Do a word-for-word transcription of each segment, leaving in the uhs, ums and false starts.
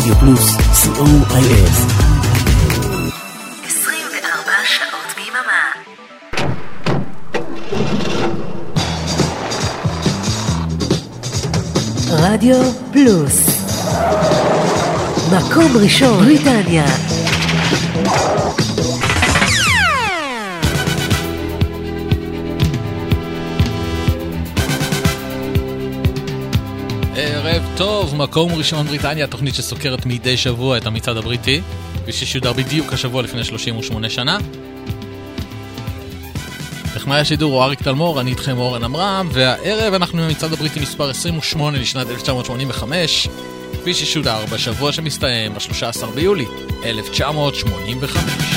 רדיו פלוס, סי או איי אס. עשרים וארבע שעות ביממה. רדיו פלוס, מקום ראשון בריטניה. ערב טוב, מקום ראשון בריטניה, תוכנית שסוקרת מדי שבוע את המצעד הבריטי, וששודר בדיוק השבוע לפני שלושים ושמונה שנה. טכנאי השידור הוא אריק תלמור, אני איתכם אורן אמרם, והערב אנחנו במצעד הבריטי מספר עשרים ושמונה לשנת אלף תשע מאות שמונים וחמש, כפי ששודר בשבוע שמסתיים ב-שלושה עשר ביולי אלף תשע מאות שמונים וחמש.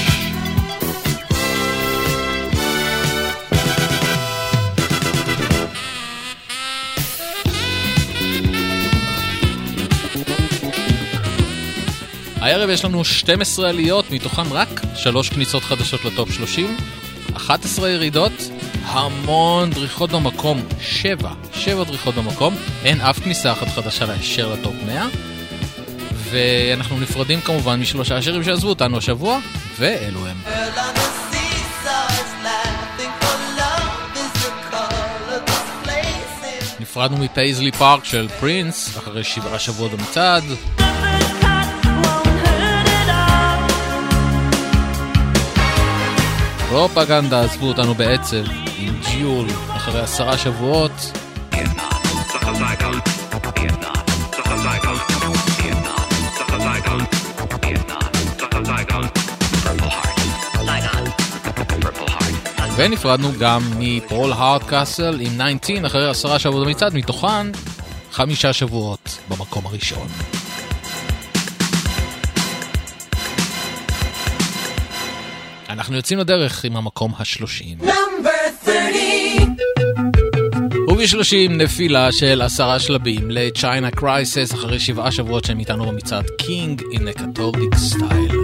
הערב יש לנו שתים עשרה עליות, מתוכן רק שלוש כניסות חדשות לטופ שלושים, אחת עשרה ירידות, המון דריכות במקום, שבע, שבע דריכות במקום, אין אף כניסה אחת חדשה להישר לטופ מאה, ואנחנו נפרדים כמובן משלושה השירים שעזבו אותנו השבוע, ואלו הם. נפרדנו מפייזלי פארק של פרינס, אחרי שבעה שבועות במצעד. פרופגנדה עזבו אותנו בעצב עם ג'יול אחרי עשרה שבועות. ונפרדנו גם מפרול הארד קאסל עם תשע עשרה אחרי עשרה שבועות במצעד, מתוכן חמישה שבועות במקום הראשון. אנחנו יוצאים לדרך עם המקום השלושים. וב-שלושים נפילה של עשרה שלבים לצ'יינה קרייסס אחרי שבעה שבועות שהם איתנו במצעד קינג in a Catholic style.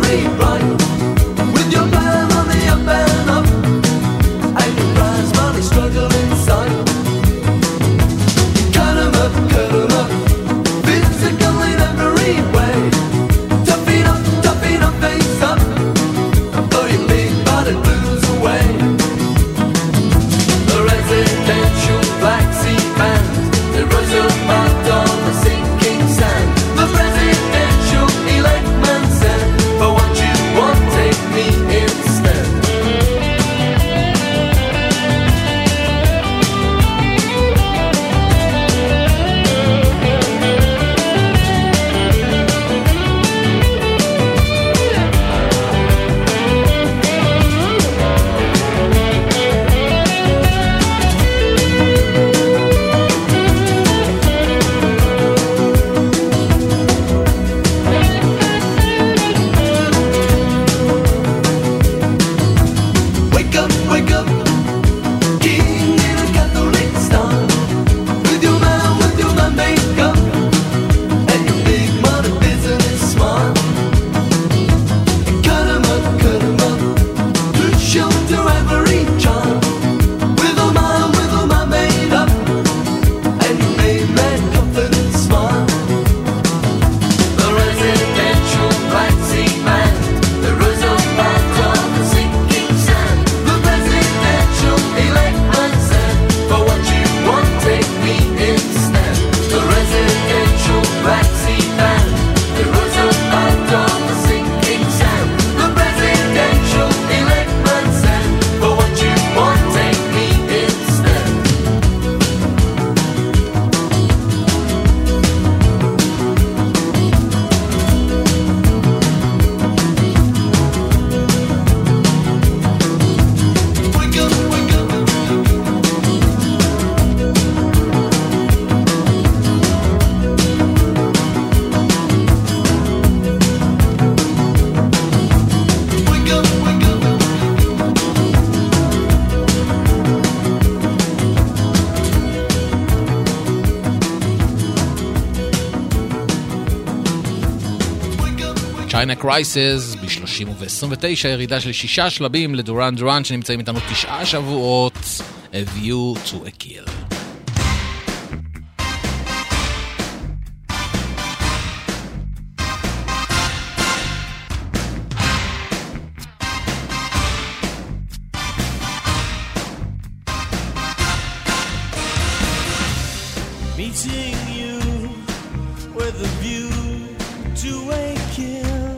Money צ'יינה קרייסיס ב-שלושים וב-עשרים ותשע, ירידה של שישה שלבים לדורן דורן שנמצאים איתנו תשעה שבועות. A View to a Kill. Meeting you with a view to a kill,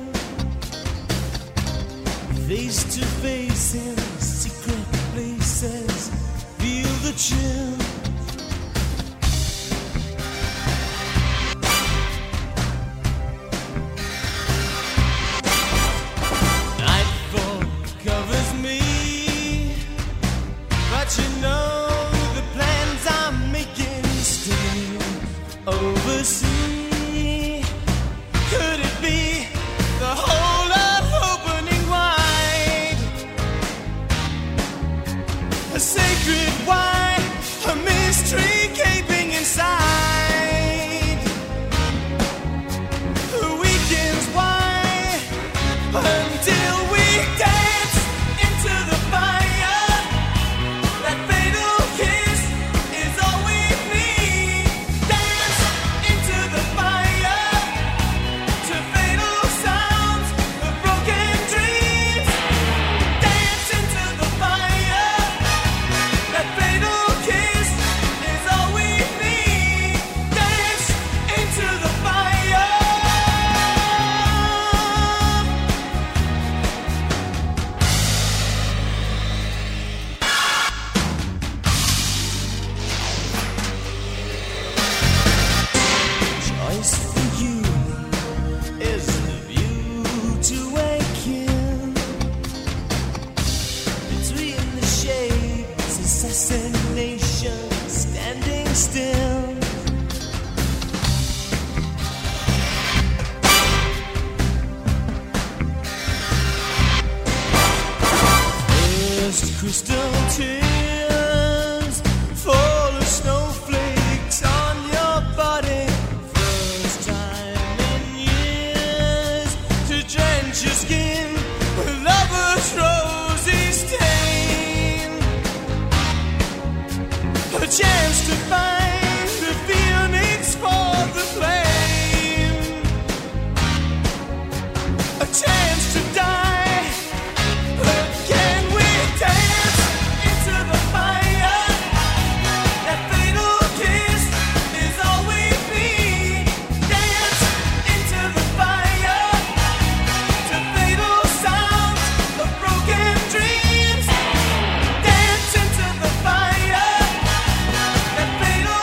face to face in secret places, feel the chill. Nightfall covers me, but you know the plans I'm making still oversee. Could it be the whole of opening wide? A sacred wine, a mystery gaping inside. The weekends wide until we dance into the fire. That fatal kiss is all we need. Dance into the fire to fatal sounds of broken dreams. Dance into the fire. That fatal kiss is all we need. Dance into the fire. Choice for you is the view to a kill. Between the shades, assassination standing still. First crystal tears fall as snowflakes on your body. First time in years to drench your skin with lover's rosy stain. A chance to find the phoenix for the flame. A chance to die. But can we dance into the fire? That fatal kiss is all we need. Dance into the fire to fatal sounds of broken dreams. Dance into the fire. That fatal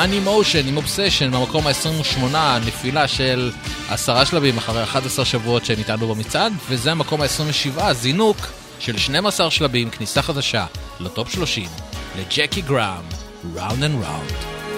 Animotion עם Obsession במקום ה-עשרים ושמונה, נפילה של עשרה שלבים אחרי אחד עשר שבועות שהם איתנו במצעד, וזה המקום ה-עשרים ושבע, זינוק של שנים עשר שלבים, כניסה חדשה לטופ שלושים, לג'קי גראם, Round and Round.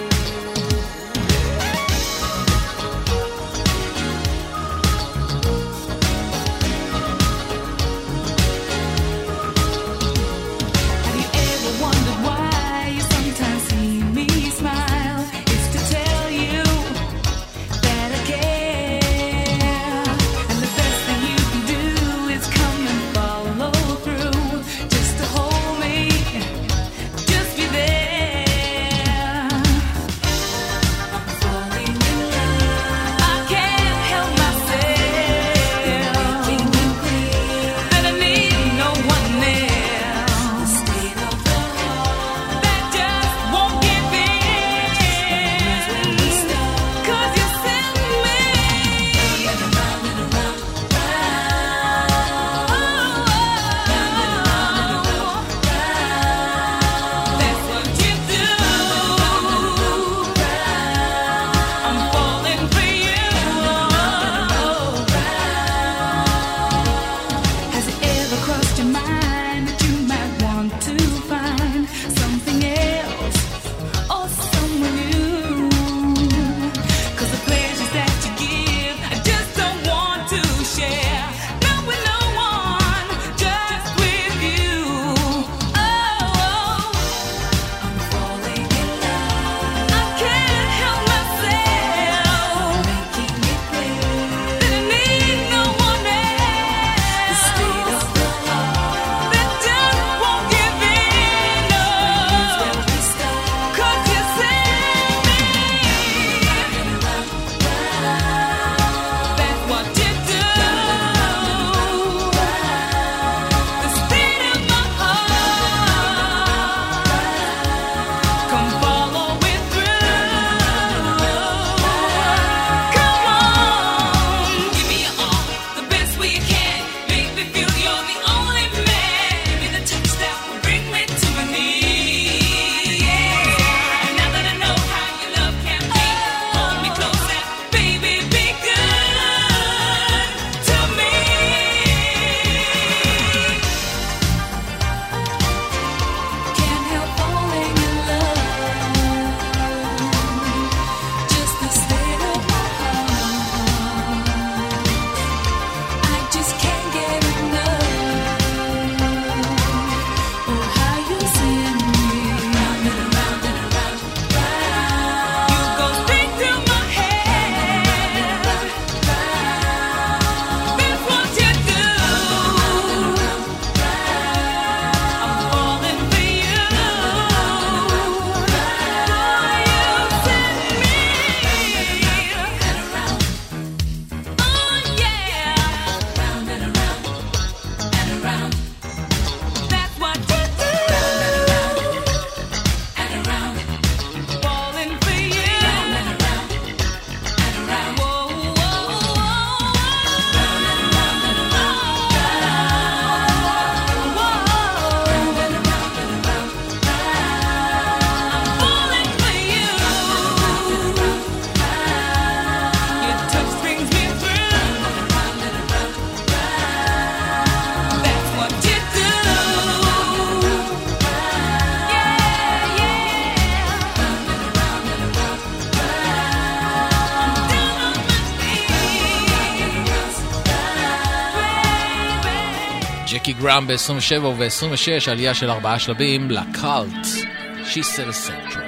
ג'קי גראם ב-עשרים ושבע וב-עשרים ושש עלייה של ארבעה שלבים לקאלט She Said Central.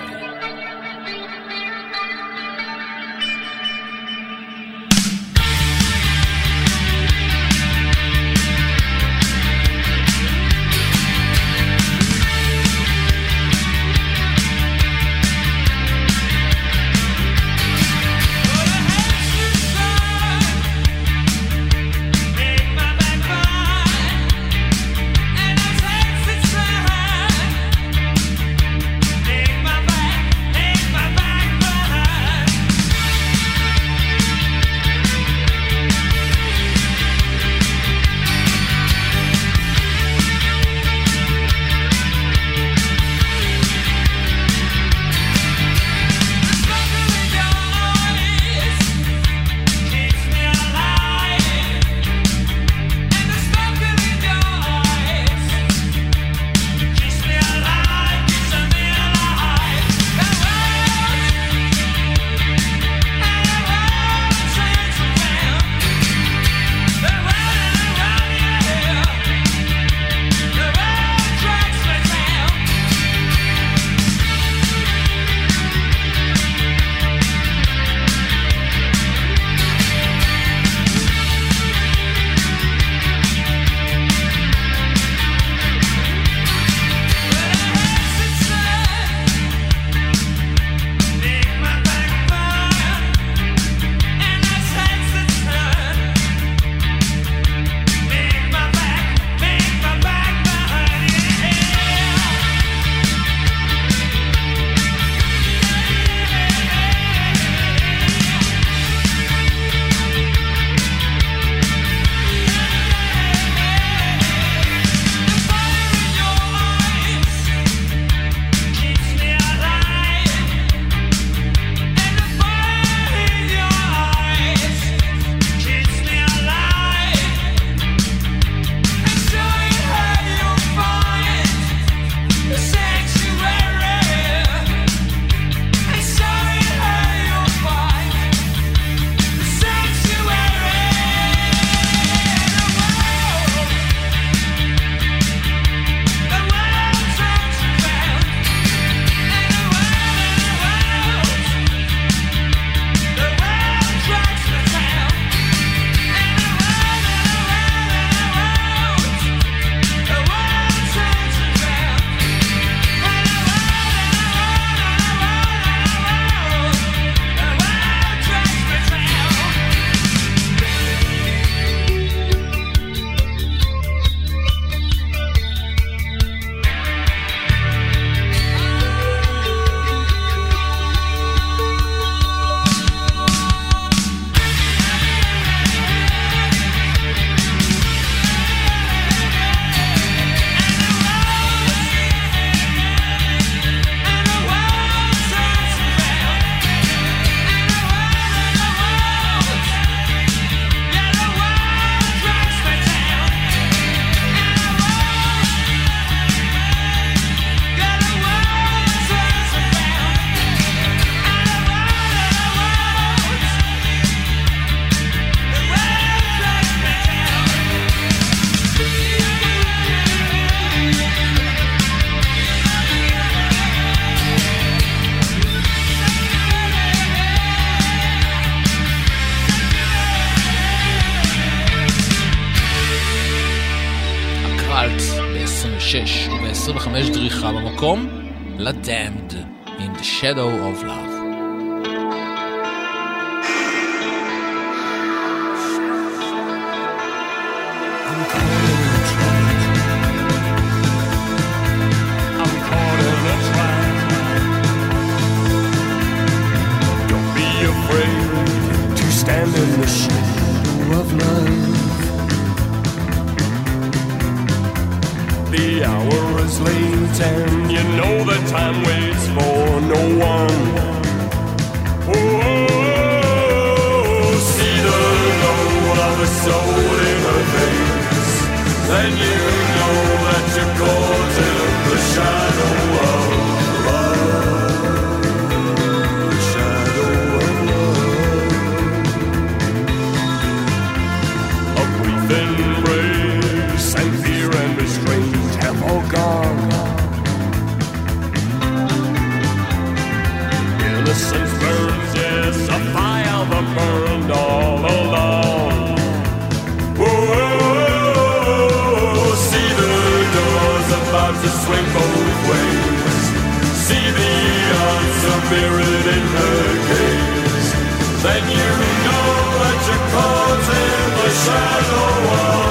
My back Heart ב-עשרים ושש וב-עשרים וחמש דריכה במקום ל-Damned in the Shadow of Love. Stand in the shadow of love. The hour is late and you know the time waits for no one. Oh, see the glow of the soul in her face, then you know that you're caught in the shadow of gone. Innocence burns, yes, a fire that burned all along. Whoa, see the doors about to swing both ways. See the answer mirrored in her gaze. Then you know that you're caught in the shadow of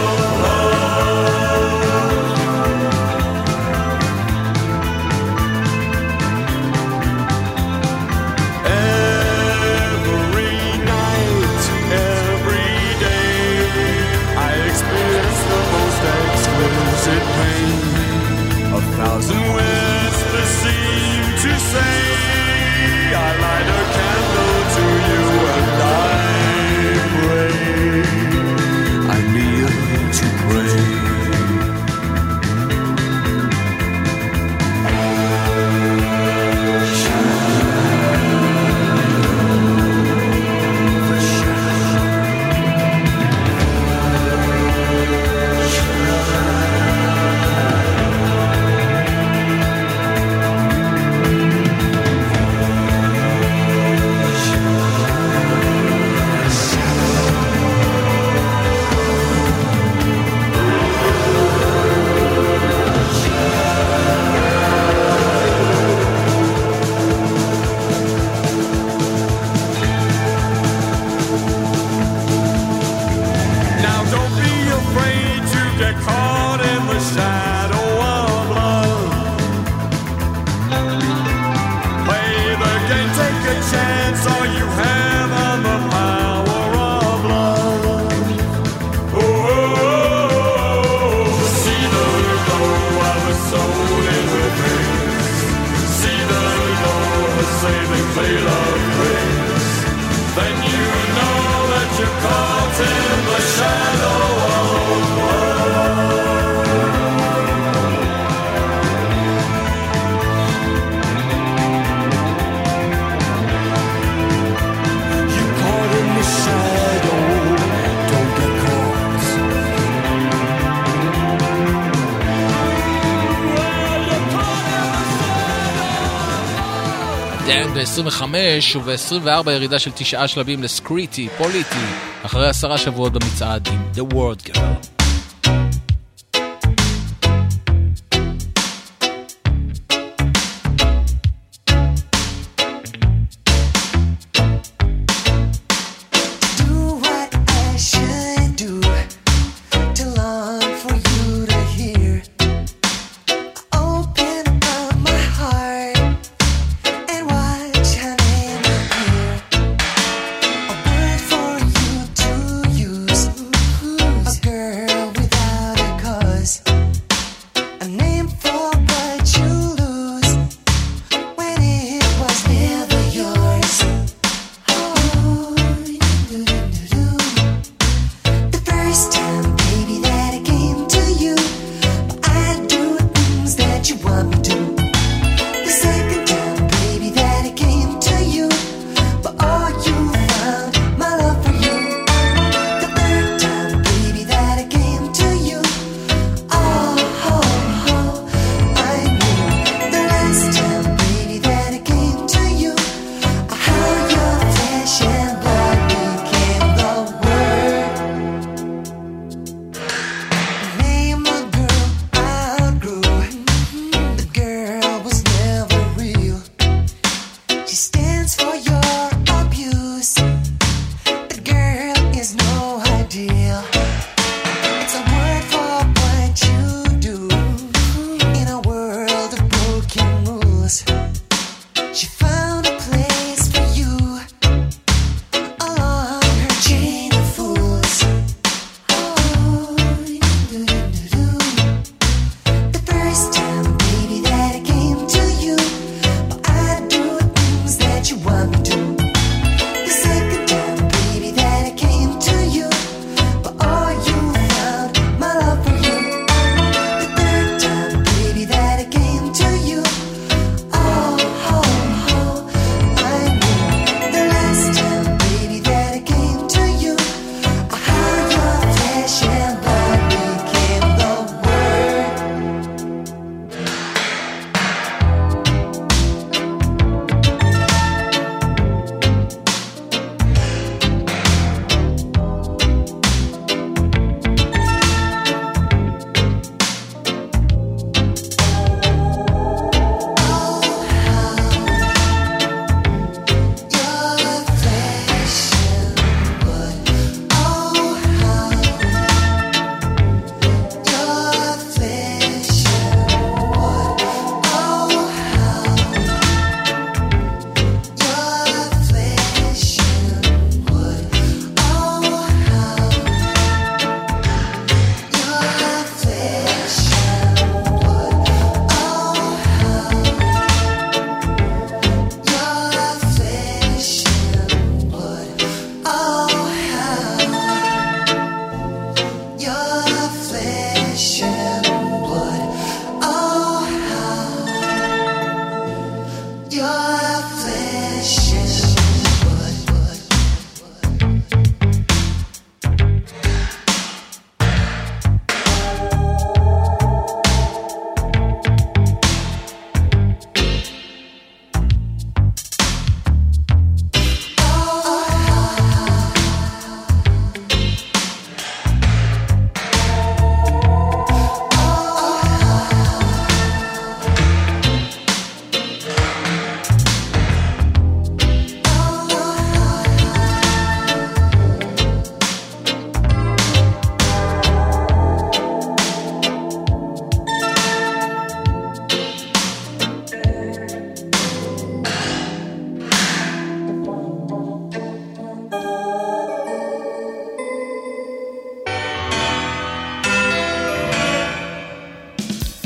a thousand whispers seem to say, I light a candle to you and I pray, I kneel to pray. ב-עשרים וחמש וב-עשרים וארבע ירידה של תשעה שלבים לסקריטי, פוליטי, אחרי עשרה שבועות במצעד עם The World Girl. Oh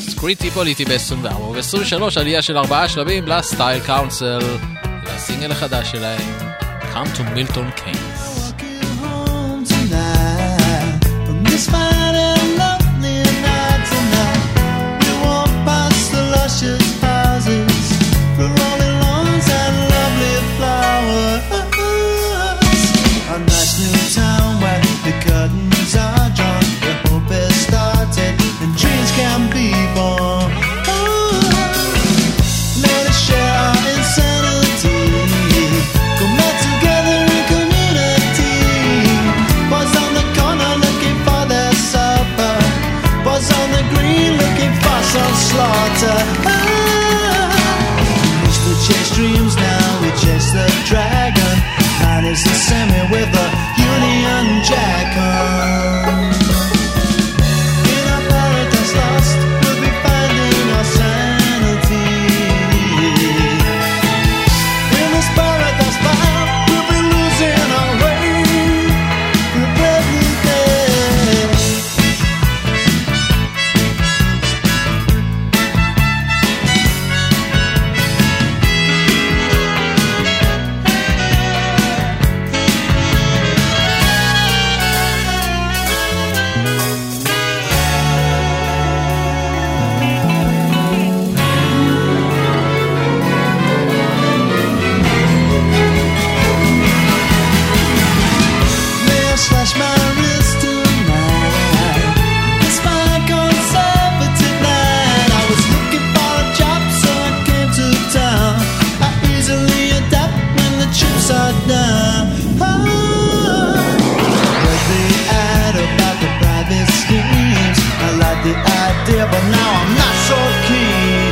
סקריטי פוליטי ב-עשרים וארבע וב-עשרים ושלוש עלייה של ארבעה שלבים לסטייל קאונסל, לסינגל החדש שלהם, Come to Milton Keynes. This fine and lovely night tonight, we walk past the luscious houses, the rolling lawns and lovely flowers. A nice new town where the curtains are drawn, where hope has started and dreams can be born. Let us share our insanity, come out together in community. Boys on the corner looking for their supper, boys on the green looking for some slaughter. We used to chase dreams, now we chase the dragon. Man is the semi with a Union Jack on. In our paradise lost, we'll be finding our sanity. In this paradise found, we'll be losing our way with every day. May I slash my wrist tonight? It's my conservative night. I was looking for a job, so I came to town. I easily adapt when the chips are down. Oh, read the ad about the private schemes. I like the idea, but now I'm not so keen.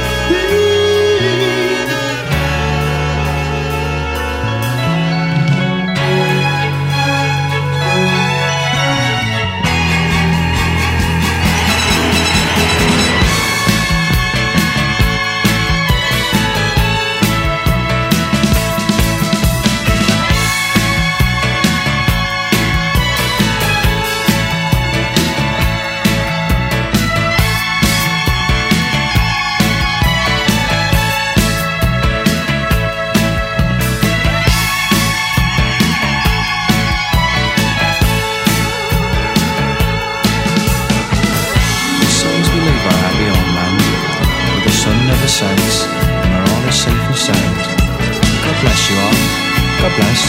The songs we live are happy on land, where the sun never sets, and where all is safe and sound. God bless you all. God bless.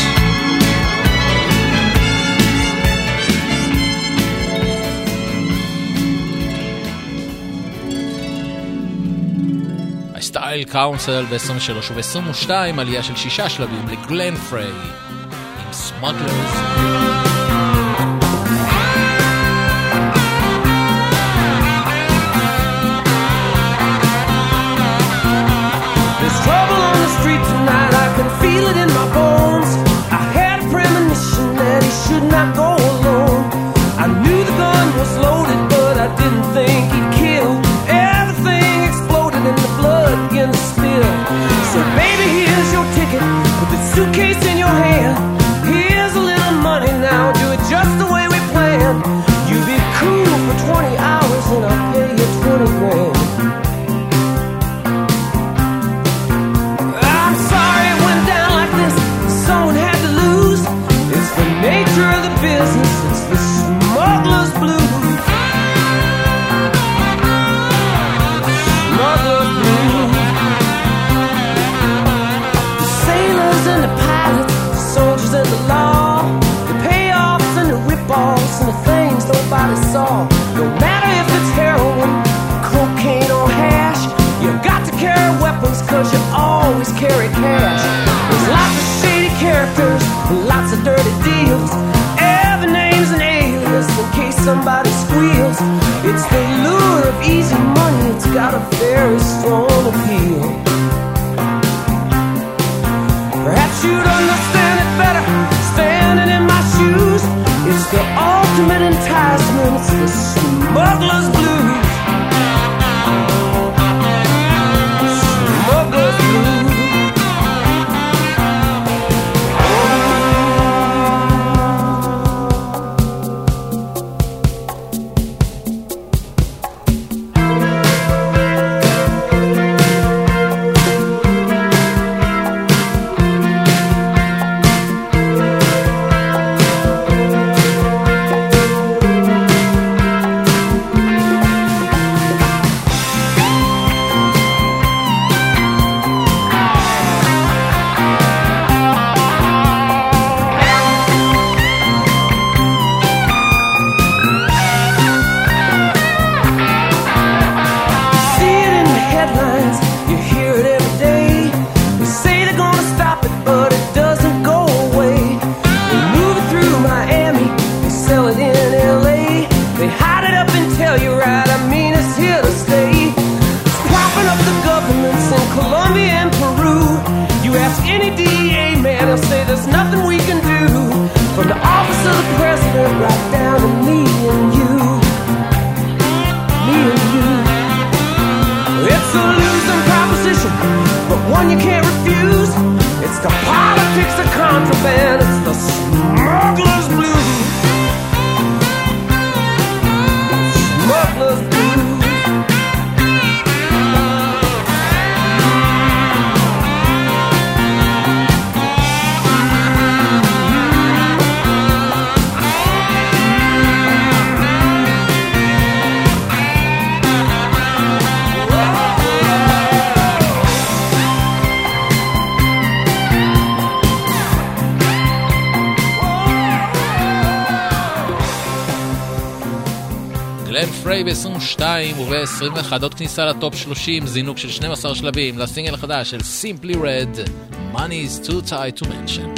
הסטייל קאונסל ב-עשרים ושלוש וב-עשרים ושתיים עלייה של שישה שלבים לגלן פריי עם סמוגלרס. There's trouble on the street tonight, I can feel it in my bones. I had a premonition that he should not go alone. I knew the gun was loaded, but I didn't think he'd kill. Everything exploded and the blood began to spill. So baby, here's your ticket, put the suitcase in your hand. Here's a little money now, do it just the way we planned. You be cool for twenty hours and I'll pay you twenty grand. I'm sorry it went down like this, someone had to lose. It's the nature of the business, it's the smuggler's blues. Smuggler's blues. The sailors and the pilots, the soldiers and the law, the payoffs and the rip-offs and the things nobody saw. No matter if it's heroin, cocaine or hash, you got to carry weapons cause you always carry cash. There's lots of shady characters, lots of dirty deals. Every name's an alias in case somebody squeals. It's the lure of easy money, it's got a very strong appeal. Perhaps you'd understand it better standing in my shoes. It's the ultimate enticement, it's the smuggler's blues. Smuggler's blues. Ray ב-עשרים ושתיים וב-עשרים ואחת עוד כניסה לטופ שלושים, זינוק של שנים עשר שלבים לסינגל החדש של Simply Red, Money is too tight to mention.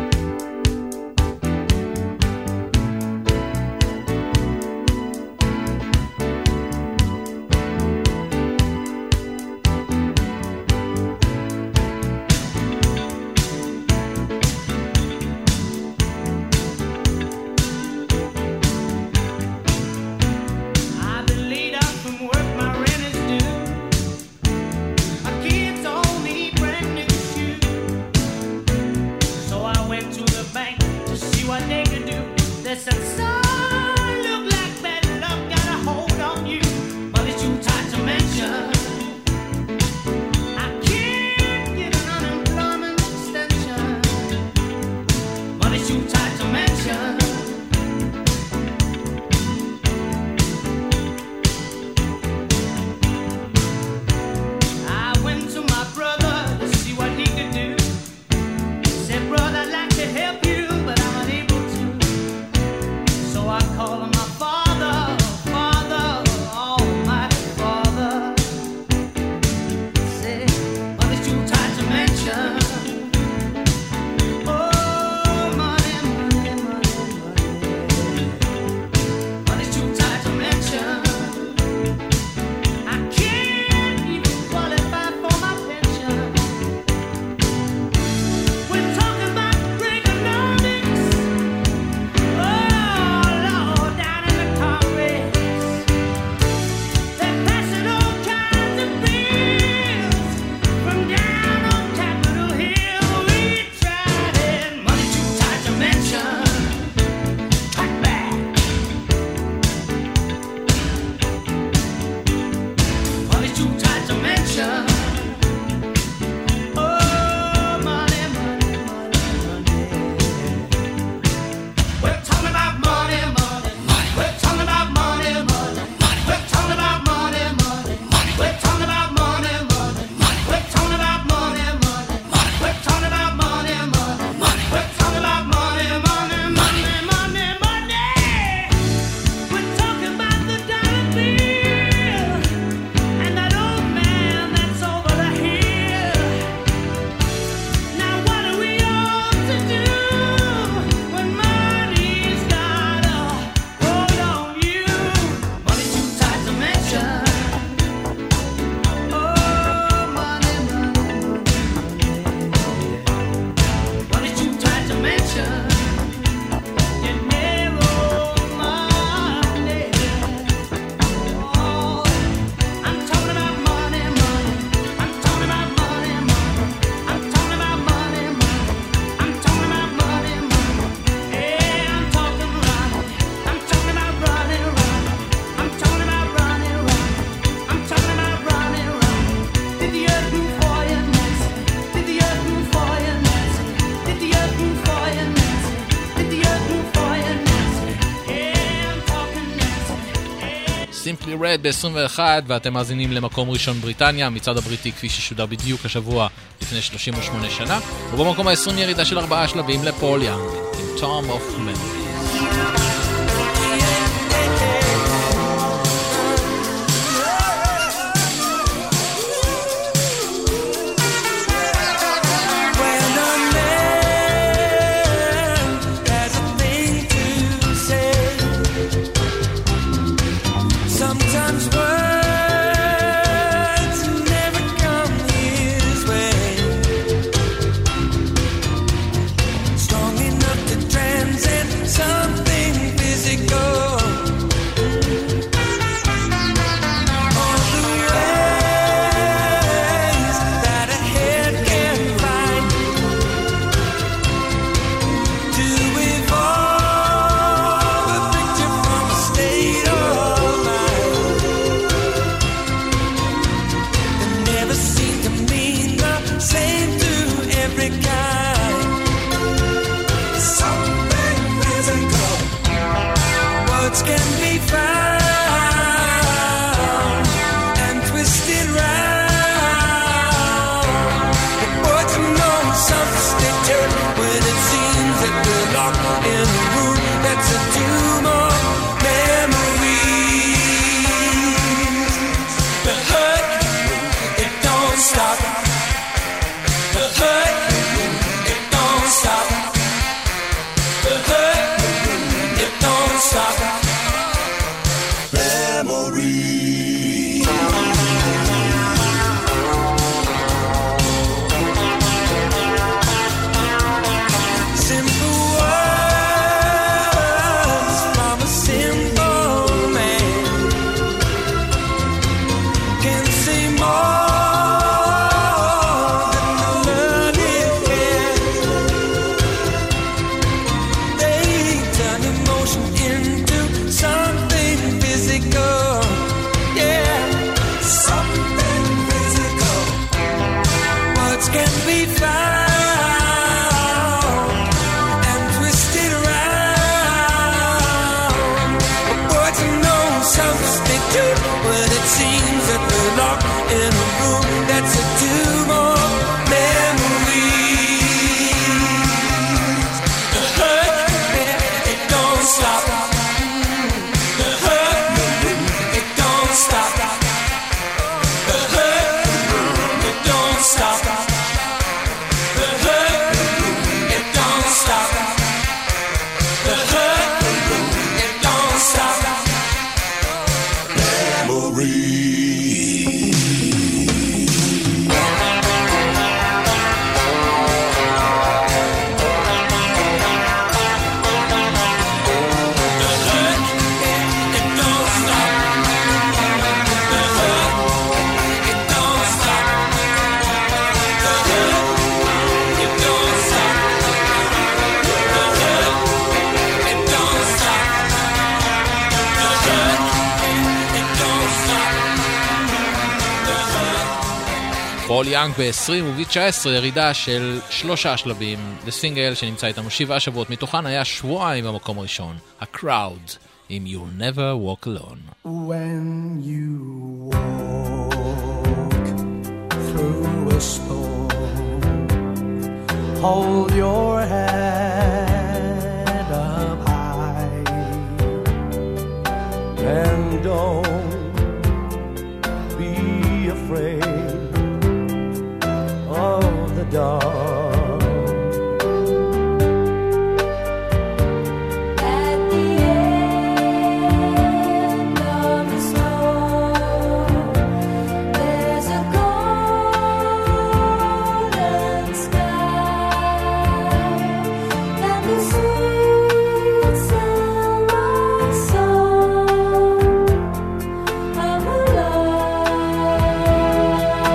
Simply Red ב-עשרים ואחת, ואתם מאזינים למקום ראשון בריטניה, מצעד הבריטי כפי ששודר בדיוק השבוע לפני שלושים ושמונה שנה, ובמקום ה-עשרים ירידה של ארבעה שלבים לפול יאנג עם Tom of Memories. Strong enough to transcend something פול יאנג ב-עשרים וב-תשע עשרה ירידה של שלושה שלבים. לסינגל שנמצא איתנו שבעה שבועות מתוכן היה שבועיים במקום הראשון, ה-Crowd עם You'll Never Walk Alone. When you walk through a storm, hold your head up high and don't be afraid of the dark. Of a love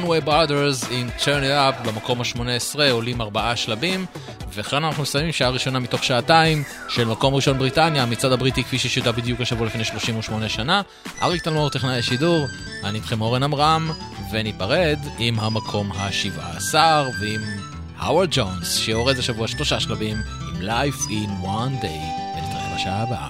Conway Brothers עם Turn It Up במקום ה-שמונה עשרה, עולים ארבעה שלבים, וכאן אנחנו מסיימים שעה ראשונה מתוך שעתיים של מקום ראשון בריטניה, המצעד הבריטי כפי ששודר בדיוק השבוע לפני שלושים ושמונה שנה. אריק תלמור טכנאי השידור, אני איתכם אורן עמרם, וניפרד עם המקום ה-שבעה עשר ועם האוורד ג'ונס שיורד השבוע שלושה שלבים עם Life in One Day, ונתראה בשעה הבאה.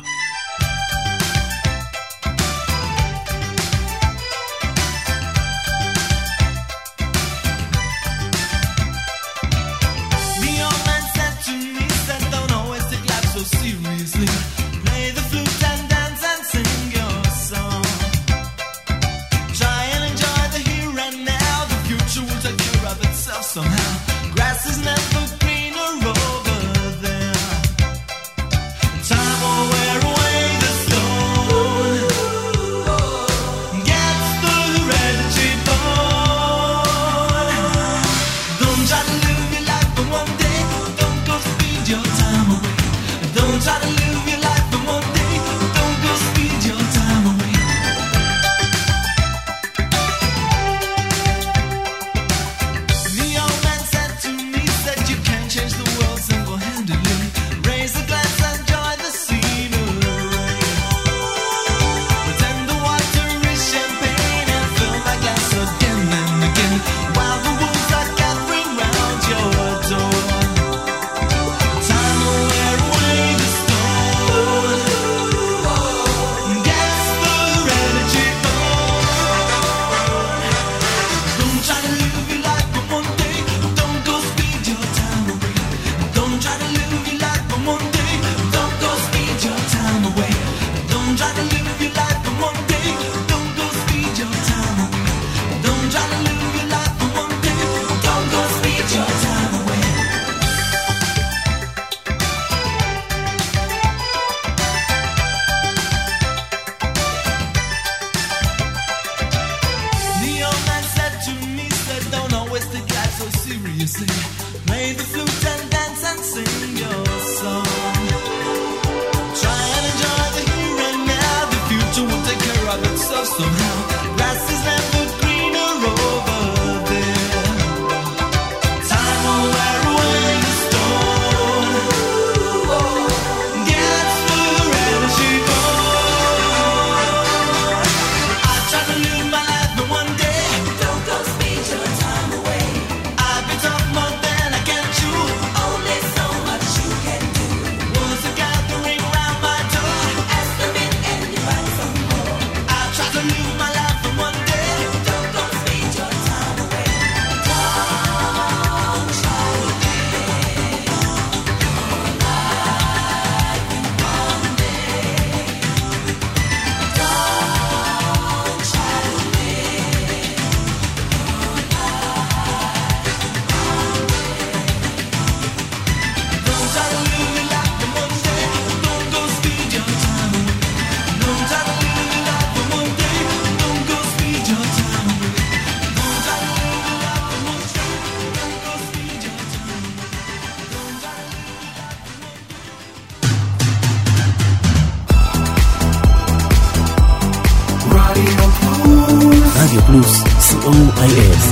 רדיו פלוס, סי או איי אס.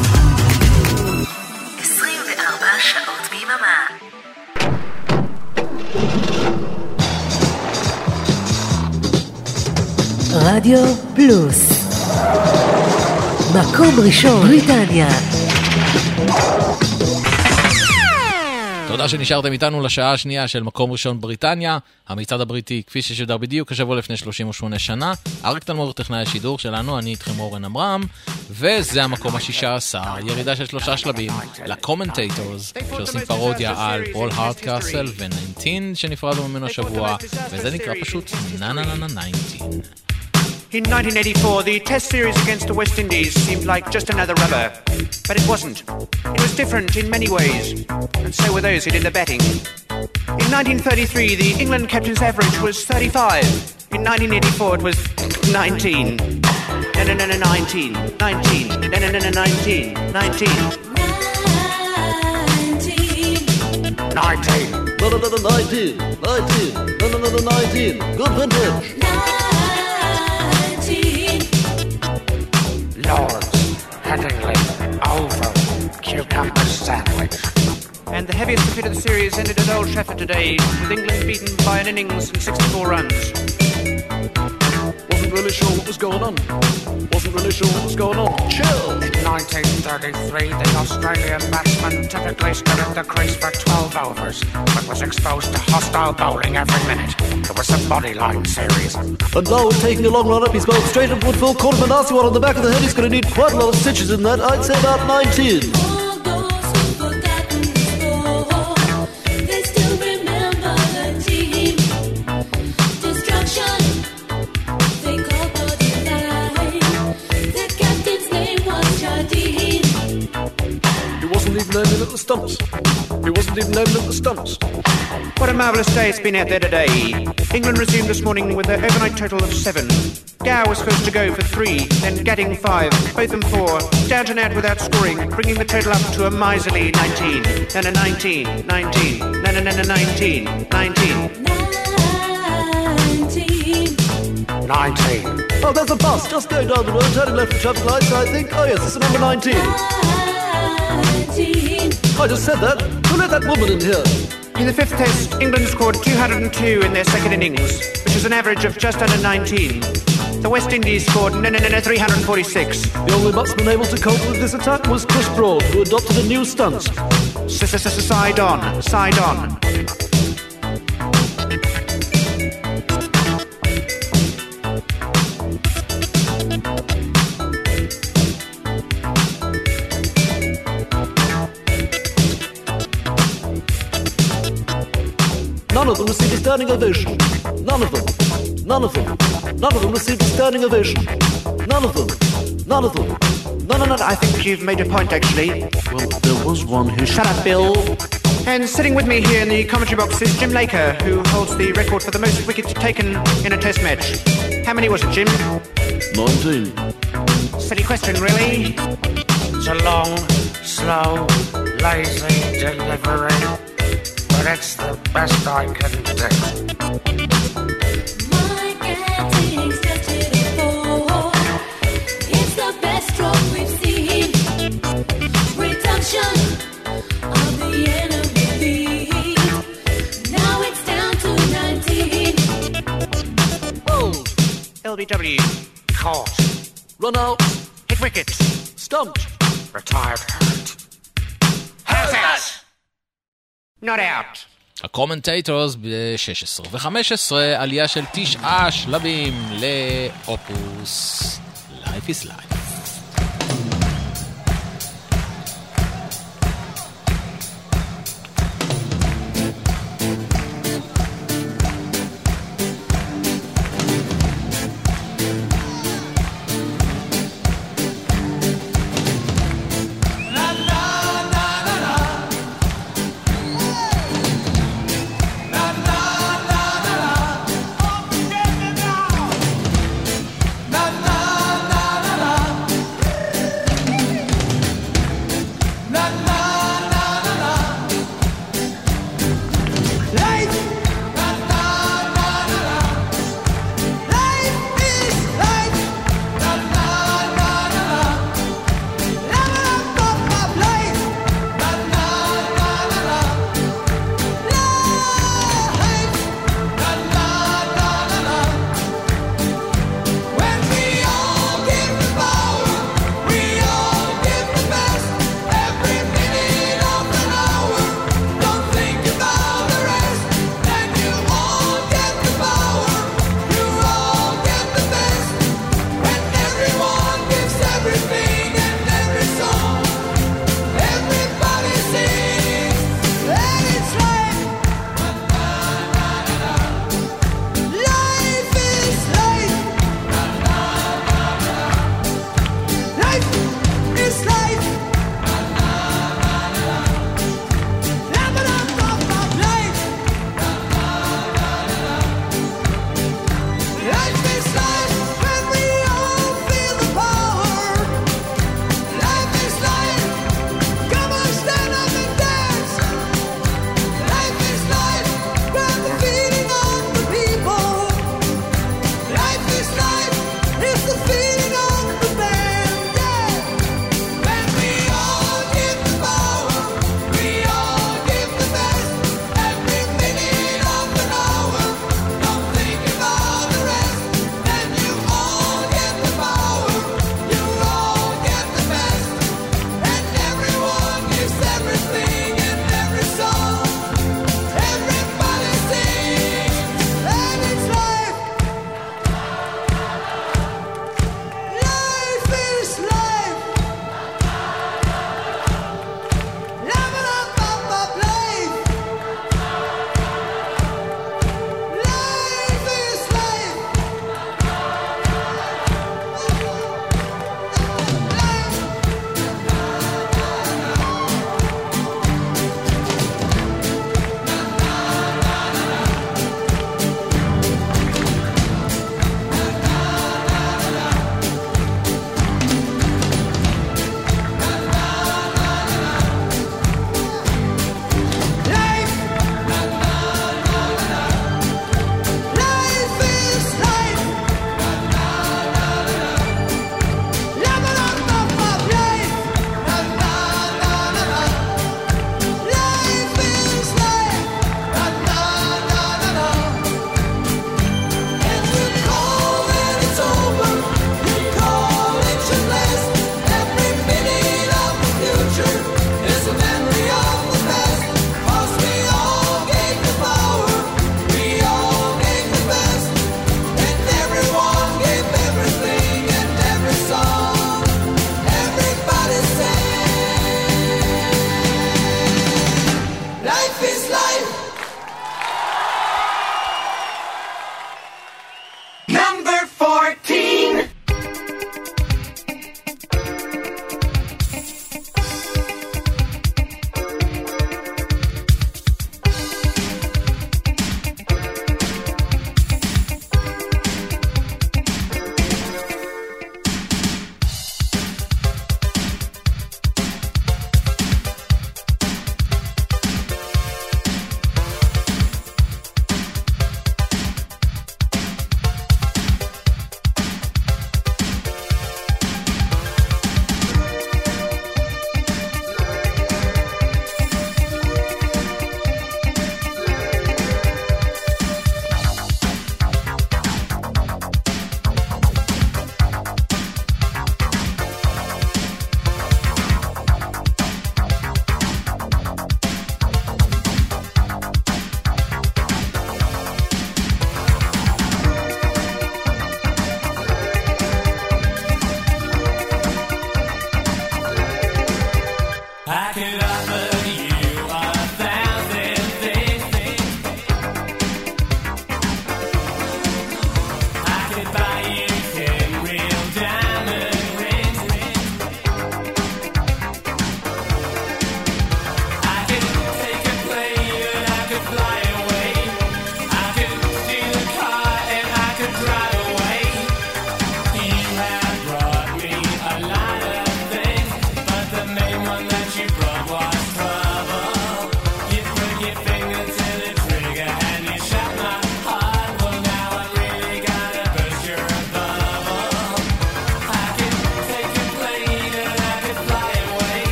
עשרים וארבע שעות ביממה. רדיו פלוס, מקום ראשון בריטניה. תודה שנשארתם איתנו לשעה השנייה של מקום ראשון בריטניה, המצעד הבריטי כפי ששודר בדיוק השבוע לפני שלושים ושמונה שנה. אריק תלמור טכנאי השידור שלנו, אני איתכם אורן עמרם, וזה המקום השישה עשר, ירידה של שלושה שלבים לקומנטייטורס שעושים פרודיה על פול הארדקאסל ו-תשע עשרה שנפרדנו ממנו השבוע, וזה נקרא פשוט נה נה נה נה תשע עשרה. In nineteen eighty-four, the Test series against the West Indies seemed like just another rubber. But it wasn't. It was different in many ways, and so were those who did the betting. In nineteen thirty-three, the England captain's average was thirty-five. In nineteen eighty-four, it was nineteen. No, no, no, no, nineteen. nineteen. No, no, no, no, nineteen. nineteen. nineteen. No, no, no, no, nineteen. nineteen. No, no, no, no, nineteen. Good vintage. Lawrence, Headingley, cucumber sandwich. And the heaviest defeat of the series ended at Old Trafford today, with England beaten by an innings and sixty-four runs. Wasn't really sure what was going on. Wasn't really sure what was going on. Chill! In nineteen thirty-three, the Australian batsman typically stood at the crease for twelve overs, but was exposed to hostile bowling every minute. It was a bodyline series. And now we're taking a long run up. He's bowled straight at Woodville. Caught him a nasty one on the back of the head. He's going to need quite a lot of stitches in that. I'd say about nineteen. Aiming at the stumps. He wasn't even aiming at the stumps. What a marvellous day it's been out there today. England resumed this morning with their overnight total of seven. Gow was first to go for three, then Gadding five, Botham four, Downton out without scoring, bringing the total up to a miserly nineteen. Then a nineteen, nineteen, then a nineteen, nineteen. nineteen. Oh, there's a bus just going down the road, turning left for traffic lights, I think. Oh, yes, it's number nineteen. I just said that. Who let that woman in here? In the fifth test, England scored two hundred two in their second innings, which is an average of just under nineteen. The West Indies scored no, no, no, no, three hundred forty-six. The only batsman able to cope with this attack was Chris Broad, who adopted a new stunt. Side on, side on. None of them received a standing ovation. None of them. None of them. None of them received a standing ovation. None of them. None of them. No, no, no, I think you've made a point, actually. Well, there was one who... Shut up, Bill. And sitting with me here in the commentary box is Jim Laker, who holds the record for the most wickets taken in a test match. How many was it, Jim? Nineteen. Silly question, really? It's a long, slow, lazy delivery. But it's the best I can do. My Gadding's just hit a four. It's the best stroke we've seen. Reduction of the enemy lead. Now it's down to nineteen. Hold. L B W. Caught. Run out. Hit wicket. Stumped. Retired hurt. How's that? Not out. הקומנטייטורס ב-שש עשרה ו-חמש עשרה, עלייה של תשעה שלבים לאופוס Life is Life.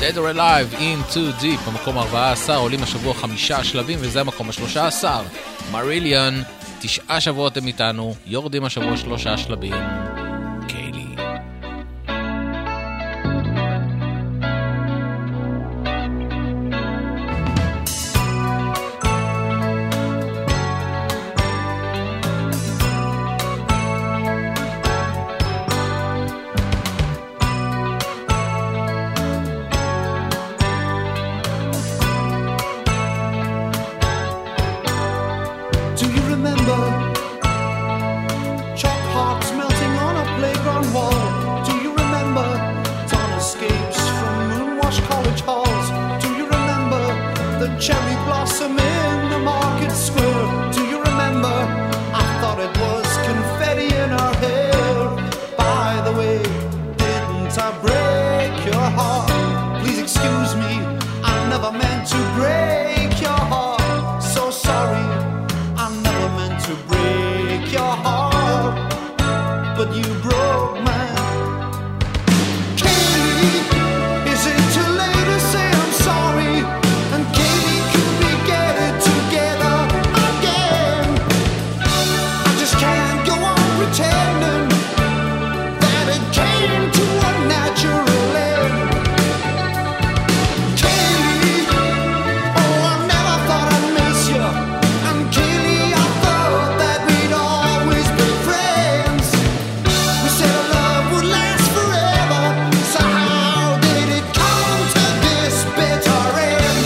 Dead or Alive in Too Deep, במקום ארבעה עשר, עולים השבוע חמישה שלבים, וזה המקום ה-שלושה עשר. מריליון, תשעה שבועות הם איתנו, יורדים השבוע שלושה שלבים. קיילי. Cherry blossom in the market square. Do you remember? I thought it was confetti in her hair. By the way, didn't I break your heart? Please excuse me, I never meant to break your heart. So sorry, I never meant to break your heart, but you broke mine. Katie, is it too late to say I'm sorry? And Katie, pretending that it came to a natural end. Kaylee, oh, I never thought I'd miss you. And Kaylee, I thought that we'd always be friends. We said our love would last forever, so how did it come to this bitter end?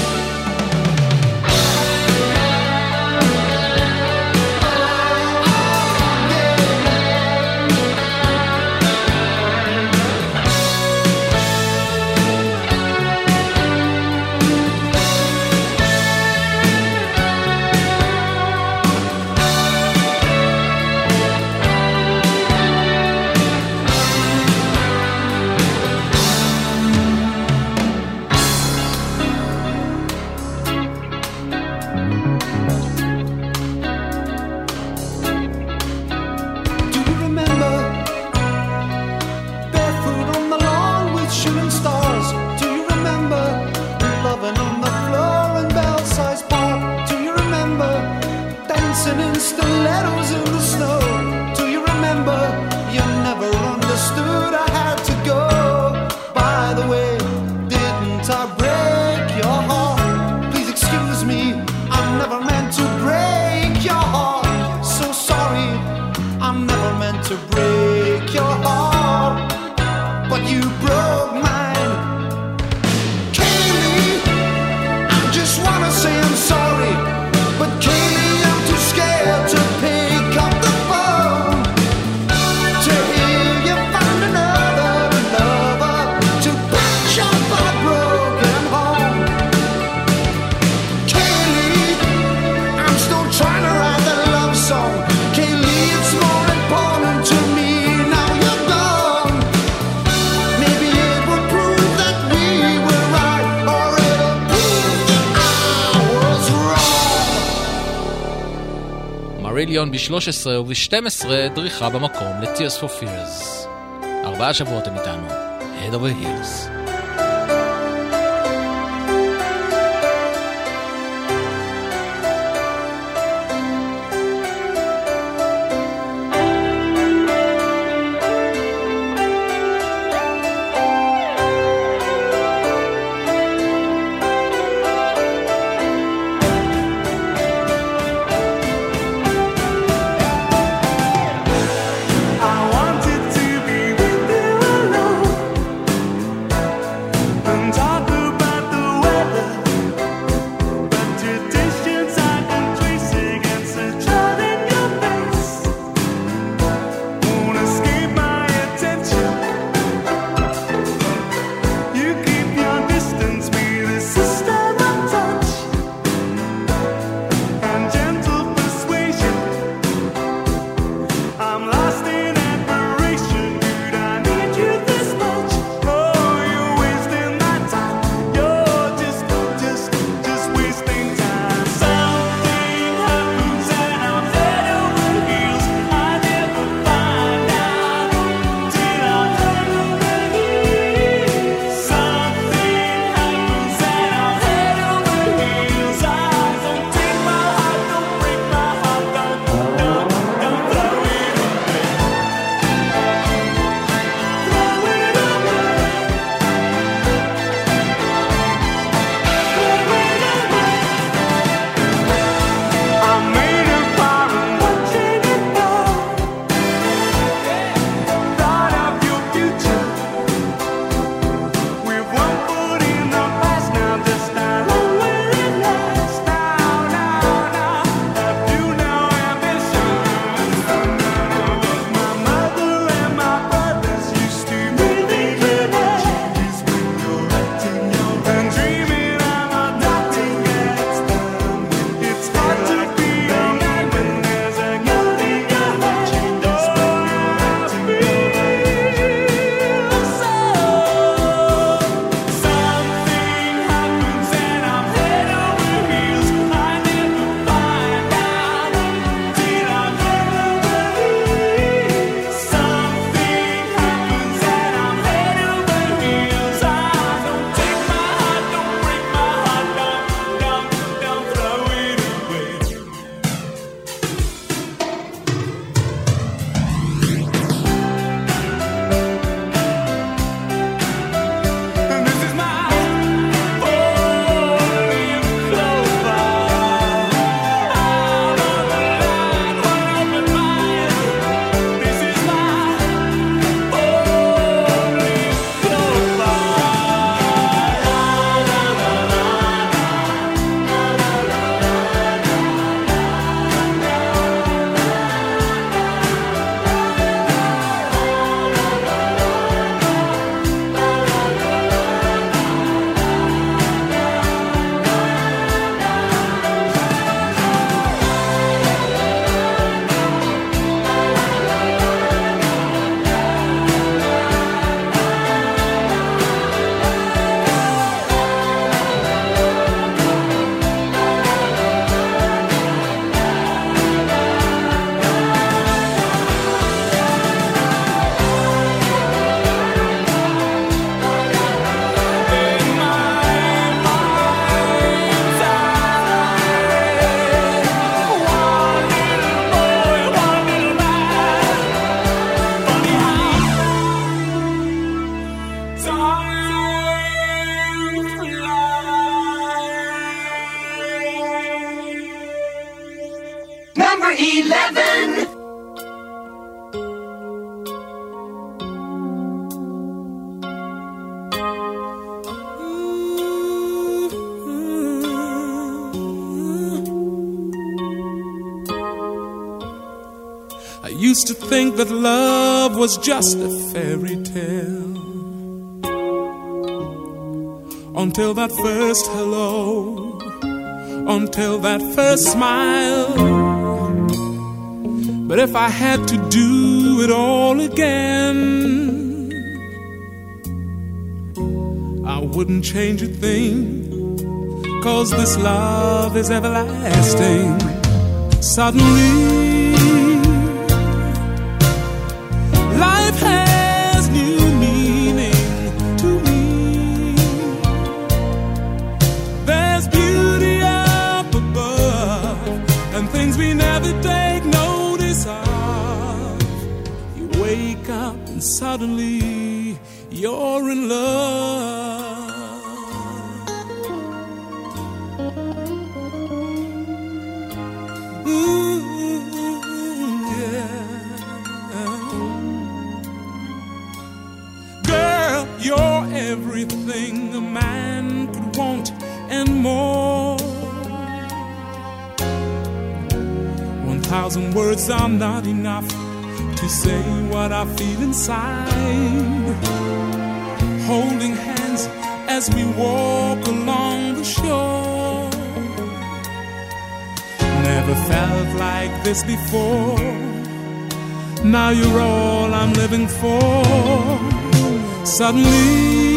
In stilettos in the snow. Do you remember? You never understood I had to go. By the way, didn't I break your heart? Please excuse me, I never meant to break your heart. So sorry, I never meant to break your heart, but you broke mine. Kaylee, I just wanna say I'm sorry, but Kaylee, scared to pick up the phone to hear you find another lover to patch up our broken home. Kaylee, I'm still trying to write that love song. Kaylee, it's more important to me now you're gone. Maybe it would prove that we were right, or it'll prove that I was wrong. מריליון ב-שלוש עשרה וב-שתים עשרה דריכה במקום ל-Tears for Fears. ארבעה שבועות הם איתנו. Head over Heels. I wanted to be with you alone. number eleven. I used to think that love was just a fairy tale, until that first hello, until that first smile. But if I had to do it all again, I wouldn't change a thing, 'cause this love is everlasting. Suddenly life has new meaning to me. There's beauty up above and things we never take notice of. You wake up and suddenly you're in love. Ooh, yeah. You're everything a man could want and more. One thousand words are not enough to say what I feel inside. Holding hands as we walk along the shore. Never felt like this before. Now you're all I'm living for. Suddenly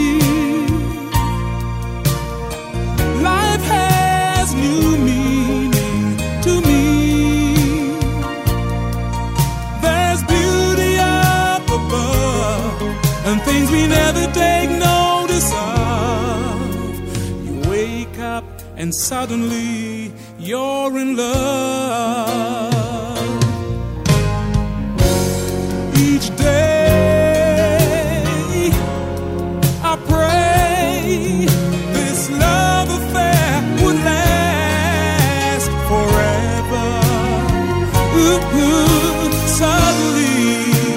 life has new meaning to me. There's beauty up above and things we never take notice of. You wake up and suddenly you're in love. Each day this love affair would last forever. Ooh, ooh, suddenly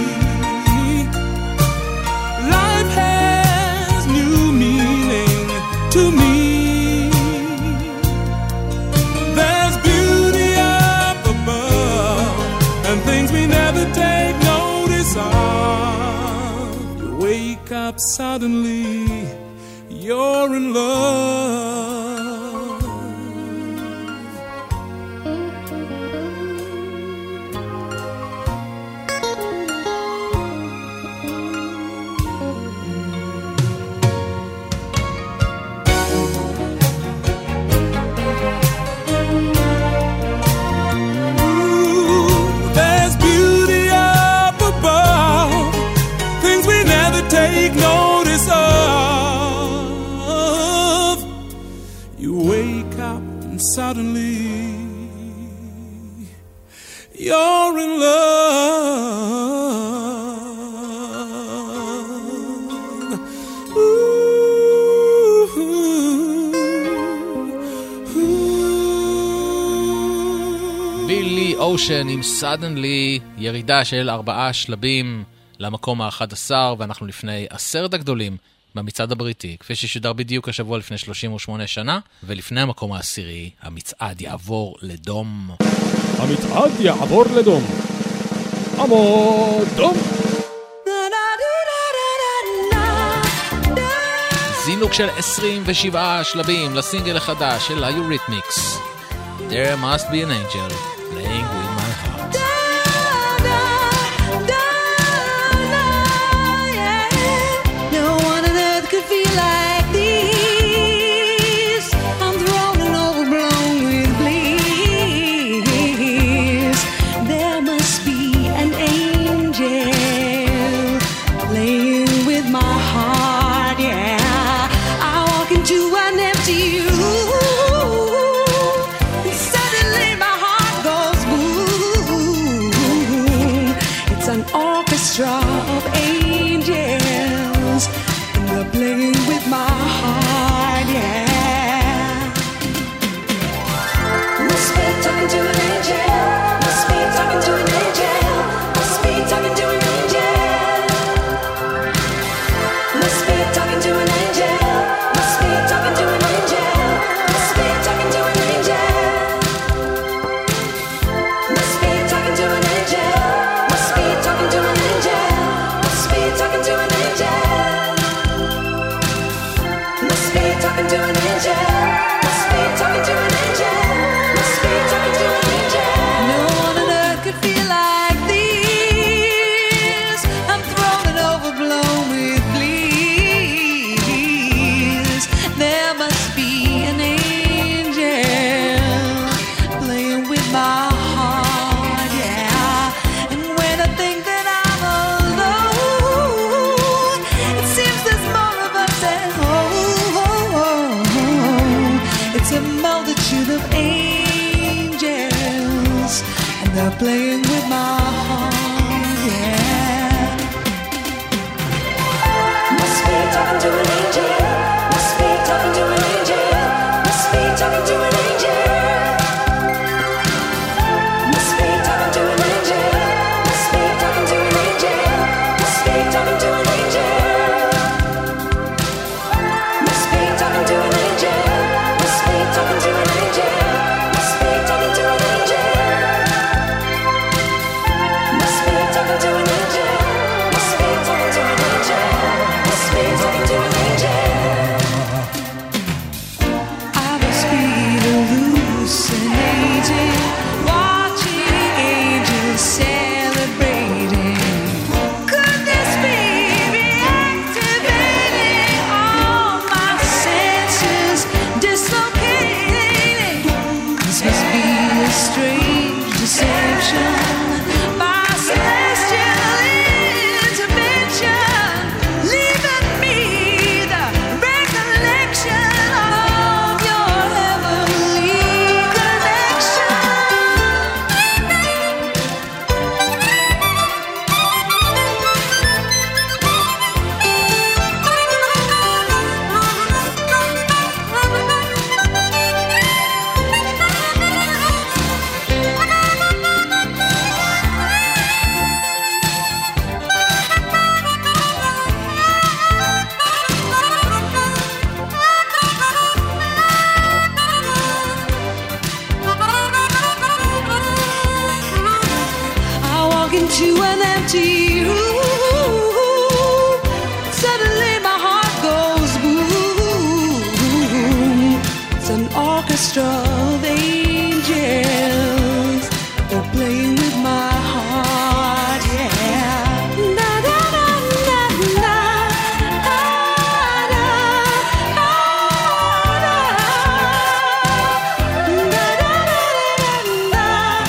life has new meaning to me. There's beauty up above and things we never take notice of. You wake up suddenly, you're in love. Ooh, there's beauty up above, things we never take notice of. Wake up and suddenly you're in love. Ooh, ooh. בילי אושן עם סדנלי, ירידה של ארבעה שלבים למקום ה-אחד עשר, ואנחנו לפני עשרת הגדולים במצעד הבריטי, כפי ששודר בדיוק השבוע לפני שלושים ושמונה שנה, ולפני המקום העשירי, המצעד יעבור לדום. המצעד יעבור לדום. עמוד דום. זינוק של עשרים ושבעה שלבים לסינגל החדש של היוריתמיקס. There must be an angel playing with my heart. Suddenly my heart goes Must be talking to an angel. Must be talking to an angel. Must be talking to an angel. No one on earth could feel like this. I'm thrown and overblown with bliss. There must be an angel playing with my heart, yeah. And when I think that I'm alone, it seems there's more of us at home. It's a multitude of angels, and they're playing with my heart, yeah. Must be talking to an angel. Must be talking to an angel. Must be talking to an angel. Must be talking to an angel. Must be talking to an angel. Must be talking to an angel. Must be talking to an angel. Must be talking to an angel. Must be talking to an angel. Must be talking to an angel. Must be talking to an angel. Must be talking to an angel. I must be hallucinating, watching angels celebrating. Could this be reactivating all my senses, dislocating? This must be a strange deception, my celestial intervention, leaving me the recollection of your heavenly connection. I walk into an empty room. Suddenly my heart goes boom. It's an orchestra of angels. They're playing with my heart, yeah. Da, da, da, da, da. Ah, da, ah, da. Da, da, da, da, da.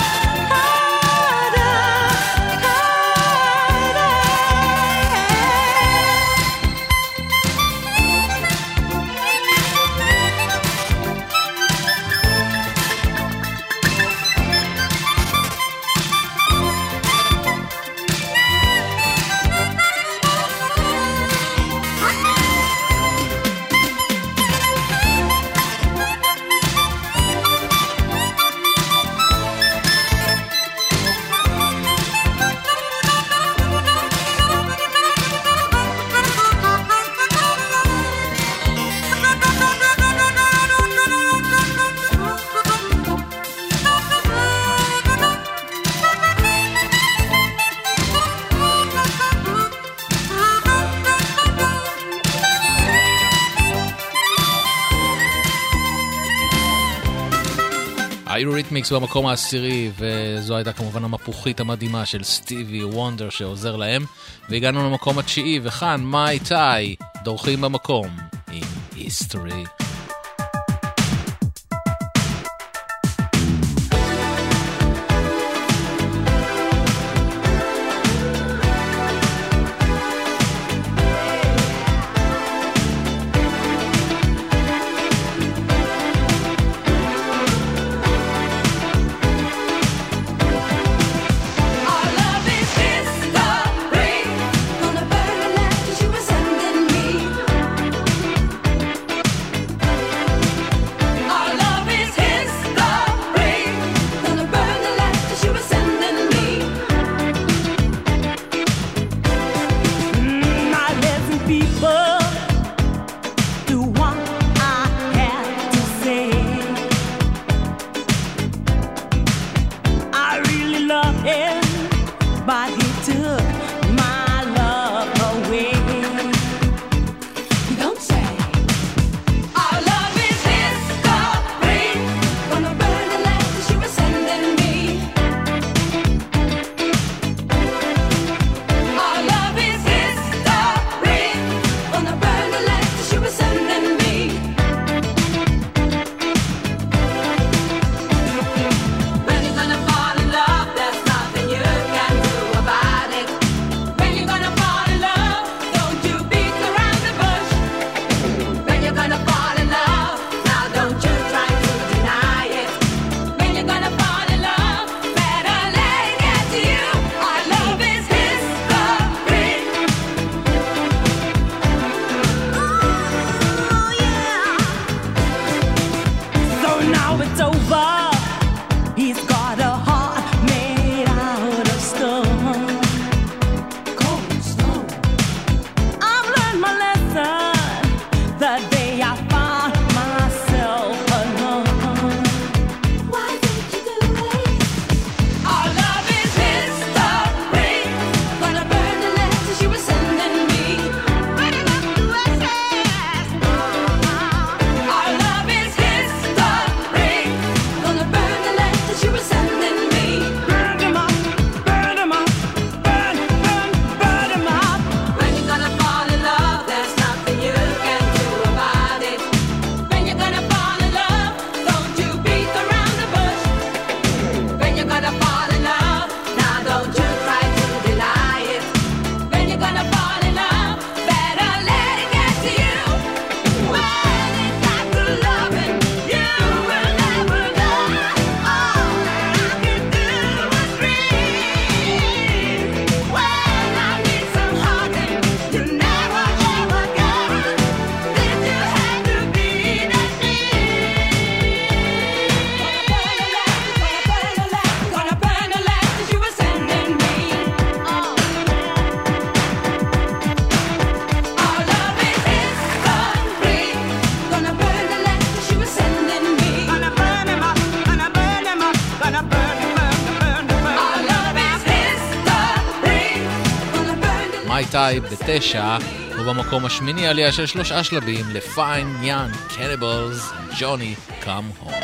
אירוריתמיקס במקום העשירי, וזו הייתה כמובן המפוחית המדהימה של סטיבי וונדר שעוזר להם, והגענו למקום התשיעי, וכאן מיי טאי דורכים במקום עם היסטורי. Gonna burn the light 'cause you were sending me. האמריקאי בתשע, ובמקום השמיני עלייה של שלושה שלבים ל-Fine Young Cannibals, Johnny Come Home.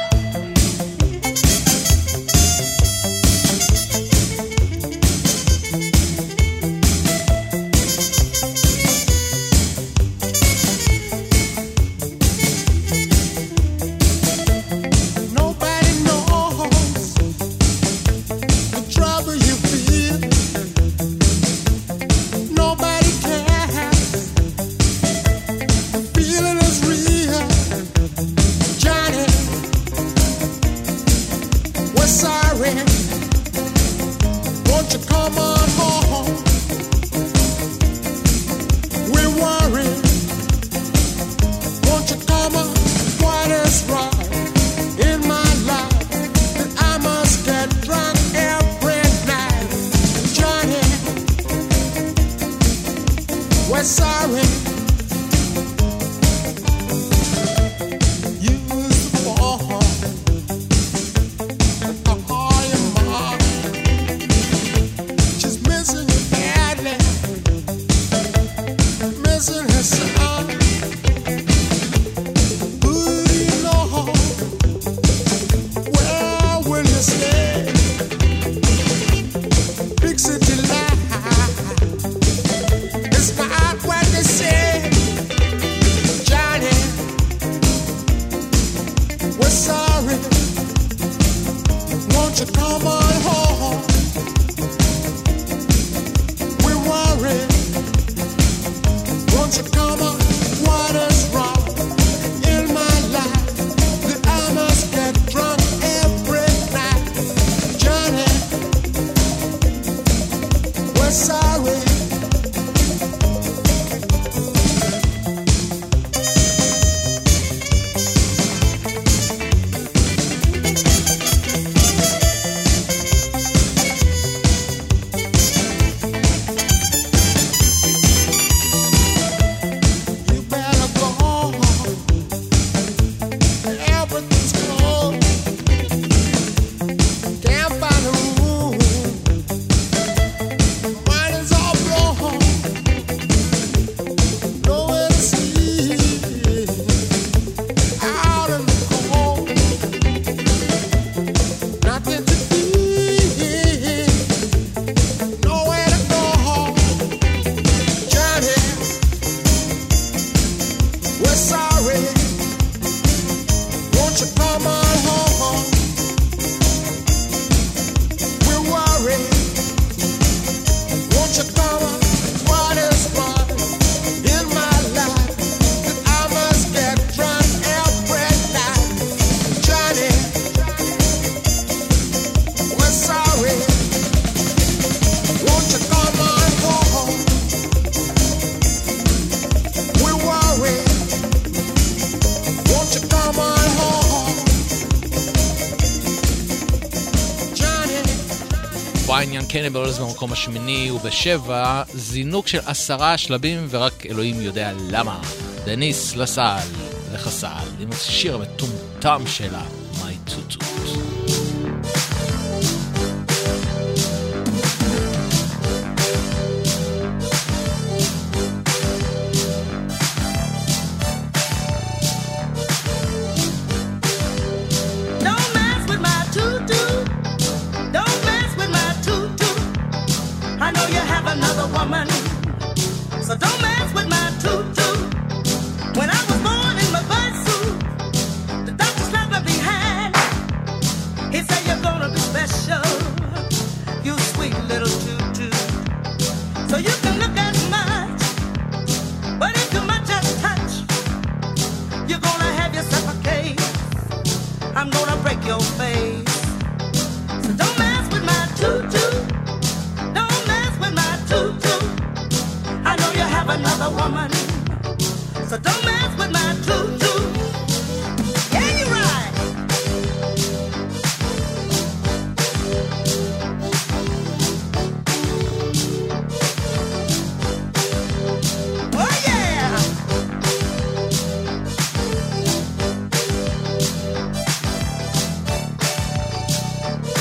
קניבלס במקום השמיני, ובשבע זינוק של עשרה שלבים ורק אלוהים יודע למה. דניס לסל לחסל עם השיר המטומטם שלה My Tutut.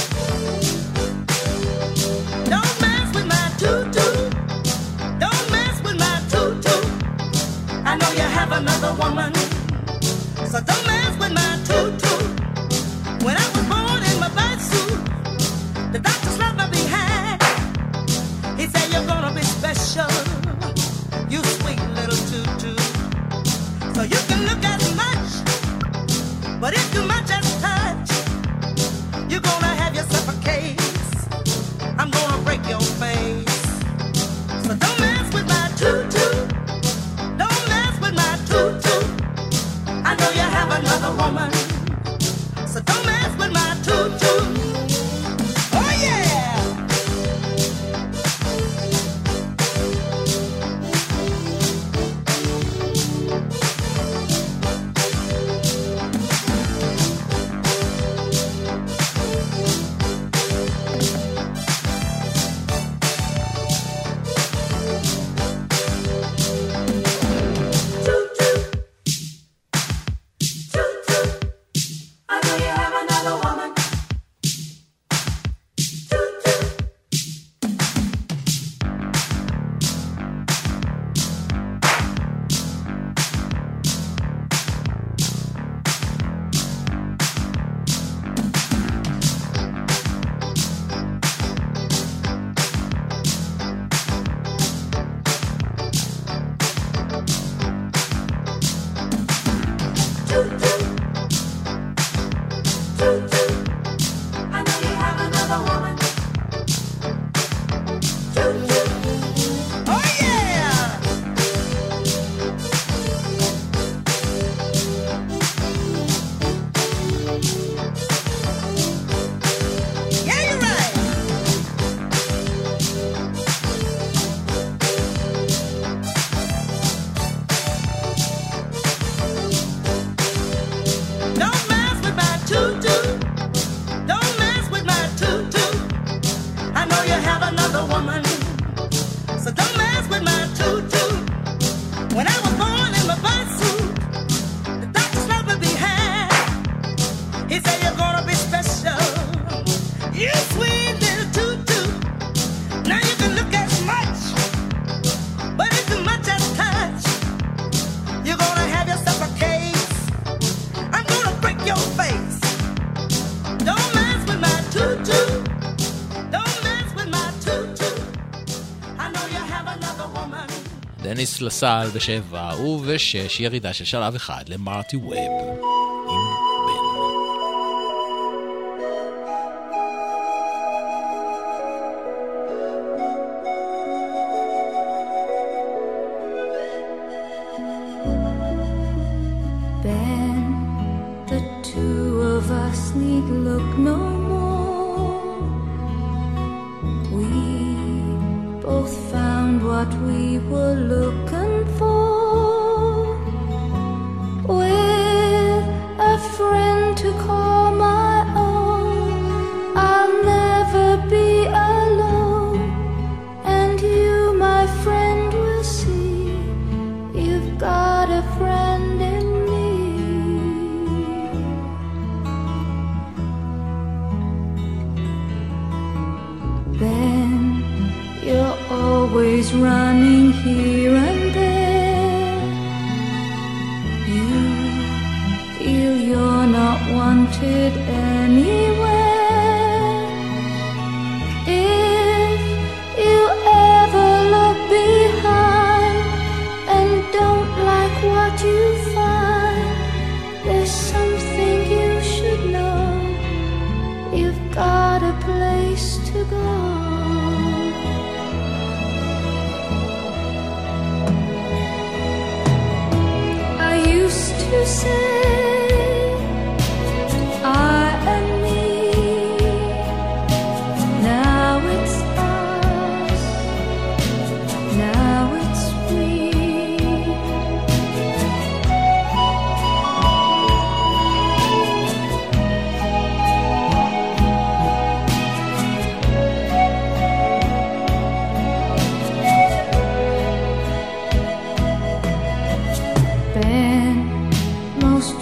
Don't mess woman. So don't mess with my tutu. When I was born in my birth suit, the doctor slapped me behind. He said you're gonna be special, you sweet little tutu. So you can look as much, but if too much as touch, you're gonna have yourself a case. I'm gonna break your face. So don't mess with my tutu. Don't mess with my tutu. I know you have another woman. So don't mess with my tutu. Oh yeah. דניס לסל בשבע ובשש, ירידה של שלב אחד למרטי ווב עם בן. Ben, the two of us need look no more. We both found what we were looking for, with a friend to call my own. I'll never be alone, and you, my friend, will see you've got a friend in me. Ben, you're always running here and there. You feel you're not wanted anywhere. If you ever look behind and don't like what you find, there's something you should know. You've got a place to go. To say I and me, now it's us, now it's we. Ben, most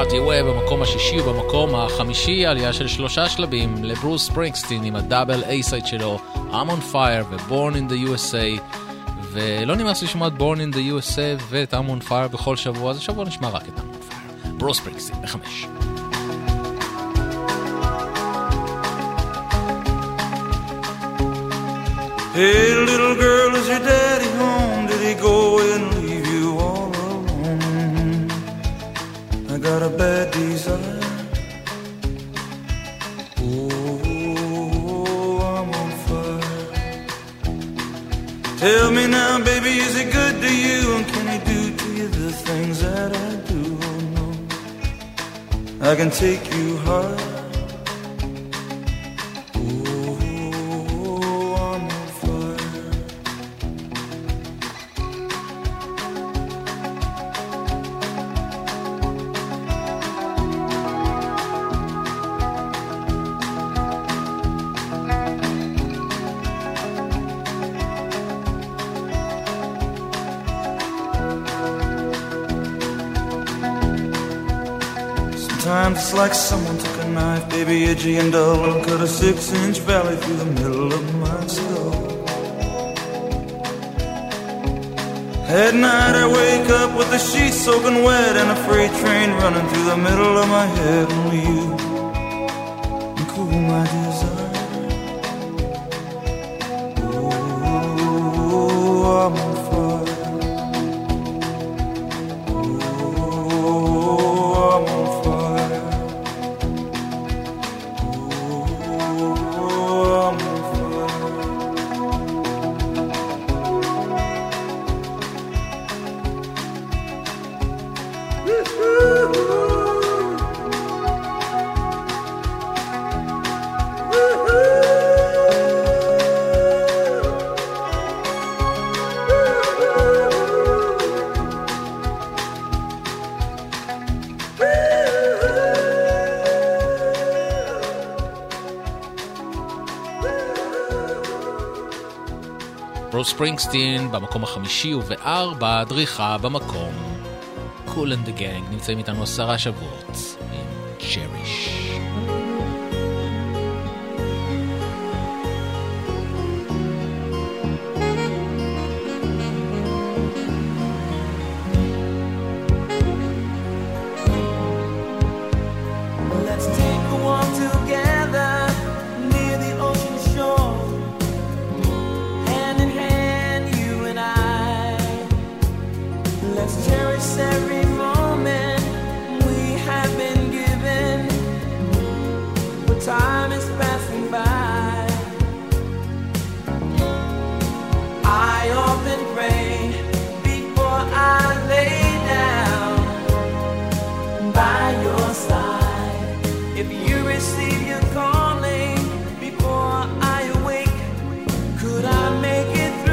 Start Your Way במקום השישי ובמקום החמישי עלייה של שלושה שלבים לברוס ספרינגסטין עם הדאבל A-side שלו I'm on Fire ו-Born in the U S A, ולא נמאס לשמוע את Born in the U S A ואת I'm on Fire בכל שבוע, אז השבוע נשמע רק את I'm on Fire. ברוס ספרינגסטין בחמש. Hey little girl, is your daddy home? Did he go and leave you all alone? I got a bad desire. Oh, I'm on fire. Tell me now, baby, is he good to you? And can he do to you the things that I do? Oh no, I can take you high. Sometimes it's like someone took a knife, baby, edgy and dull, and cut a six-inch valley through the middle of my skull. At night I wake up with the sheets soaking wet and a freight train running through the middle of my head. Only you can cool my desire. Oh, I'm on fire. ברוס ספרינגסטין במקום החמישי ובארבע דריכה במקום Cool and the Gang. נמצאים איתנו עשרה שבועות עם Cherish. Every moment we have been given, but time is passing by. I often pray before I lay down by your side. If you receive your calling before I awake, could I make it through?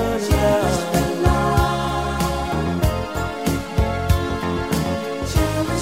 Cherish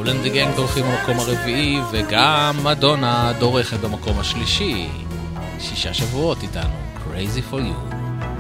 and the Gang דורכים במקום הרביעי, וגם מדונה דורכת במקום השלישי. שישה שבועות איתנו, Crazy for You.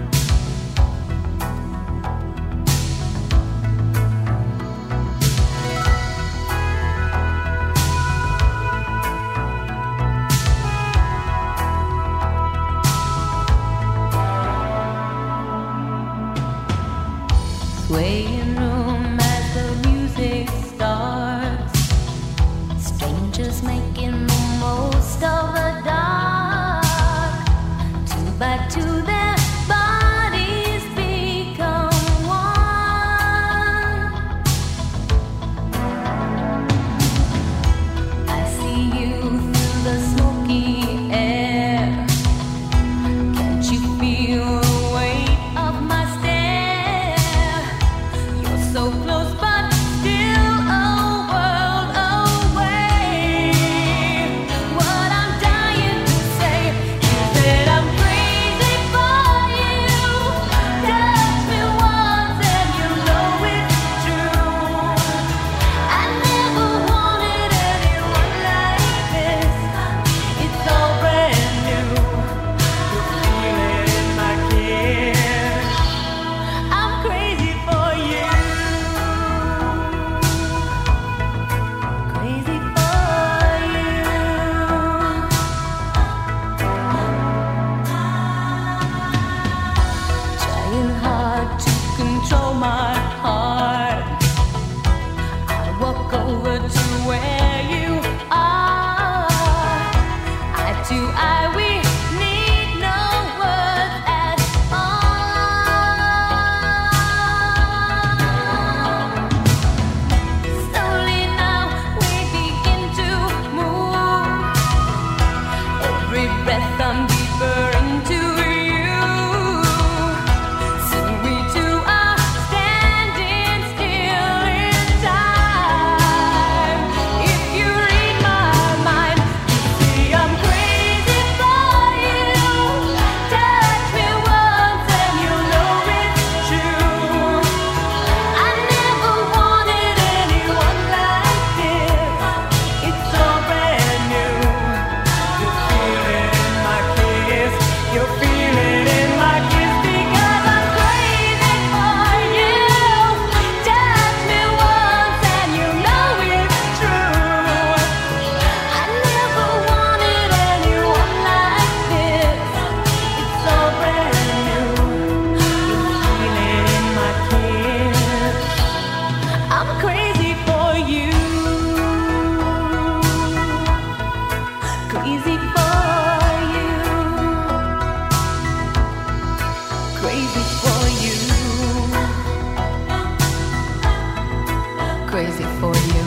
Swaying room as the music starts, strangers making the most of the dark. Two by two their bodies become one. I see you through the smoky air. Can't you feel the weight of my stare? You're so close but still a world away. What I'm dying to say is that I'm crazy for you. Touch me once and you know it's true. I never wanted anyone like this. It's all brand new. You feel it in my kiss. I'm crazy for you. Crazy for you. Trying hard to control my heart. I walk over to where you are. Eye to eye, we need no words at all. Slowly now we begin to move. Every breath I'm deeper into you. Soon we two are standing still in time. If you read my mind, you see I'm crazy for you. Touch me once and you know it's true. I never wanted anyone like this. It's all brand new. You feel it in my kiss. You feel it in my kiss because I'm crazy for you. Touch me once and you know it's true. I never wanted anyone like this. It's all brand new. You feel it in my kiss. I'm crazy for you. Crazy for you. Crazy for you. Crazy for you.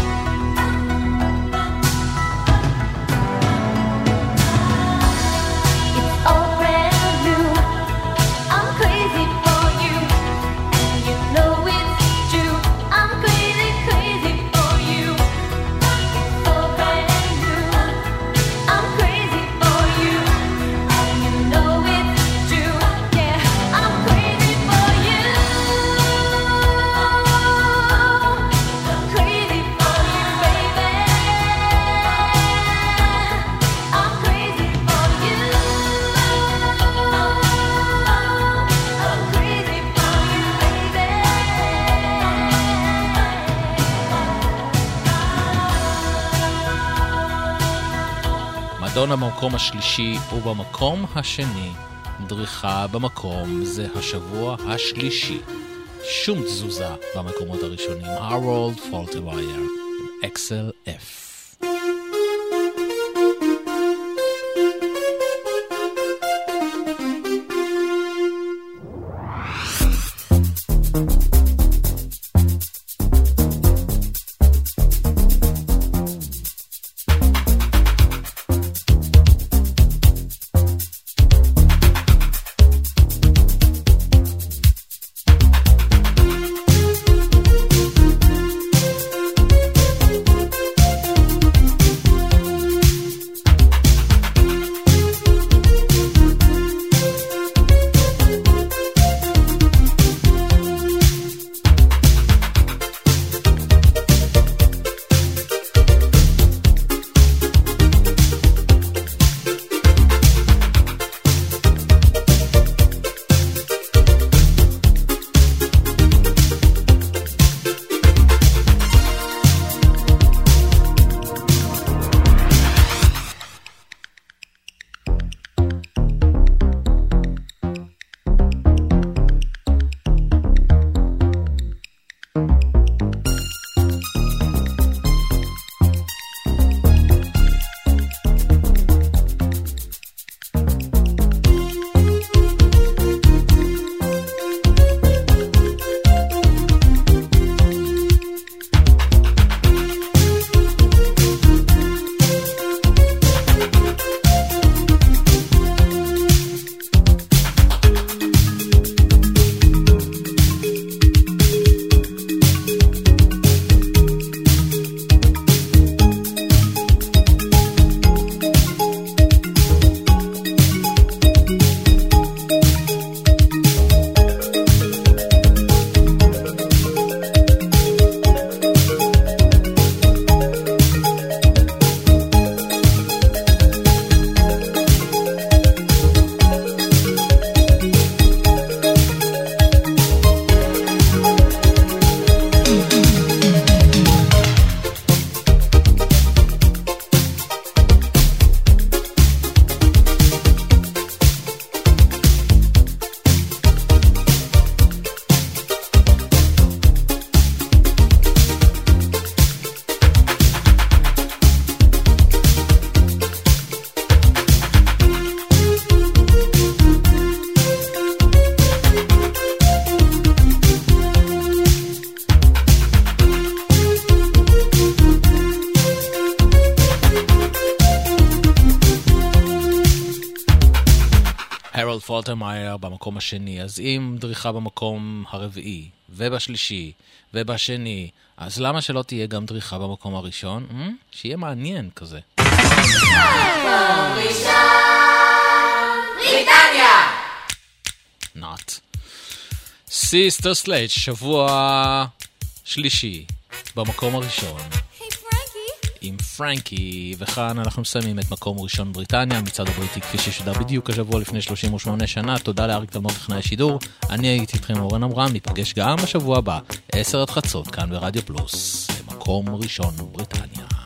It's all brand new. I'm crazy for you. And you know it's true. I'm crazy, crazy for you. It's all brand new. I'm crazy for you. And you know it's true. Yeah, I'm crazy for you. Crazy for you, baby. I'm crazy for you. I'm crazy for you, baby. מדונה במקום השלישי ובמקום השני. דריכה במקום זה השבוע השלישי. שום תזוזה במקומות הראשונים. Harold Faltermeyer עם אקסל F. Crazy פולטרמייר במקום השני. אז אם דריכה במקום הרביעי, ובשלישי, ובשני, אז למה שלא תהיה גם דריכה במקום הראשון? Hmm? שיהיה מעניין כזה. בריטניה! Not. סיסטר סלייט, שבוע שלישי, במקום הראשון. עם פרנקי, וכאן אנחנו מסיימים את מקום ראשון בריטניה, מצד הבריטי כפי ששודר בדיוק השבוע לפני שלושים ושמונה שנה. תודה לאריק תלמור טכנאי השידור, אני הייתי איתכם אורן אמרם, ניפגש גם בשבוע הבא, עשר עד חצות, כאן ברדיו פלוס, במקום ראשון בריטניה.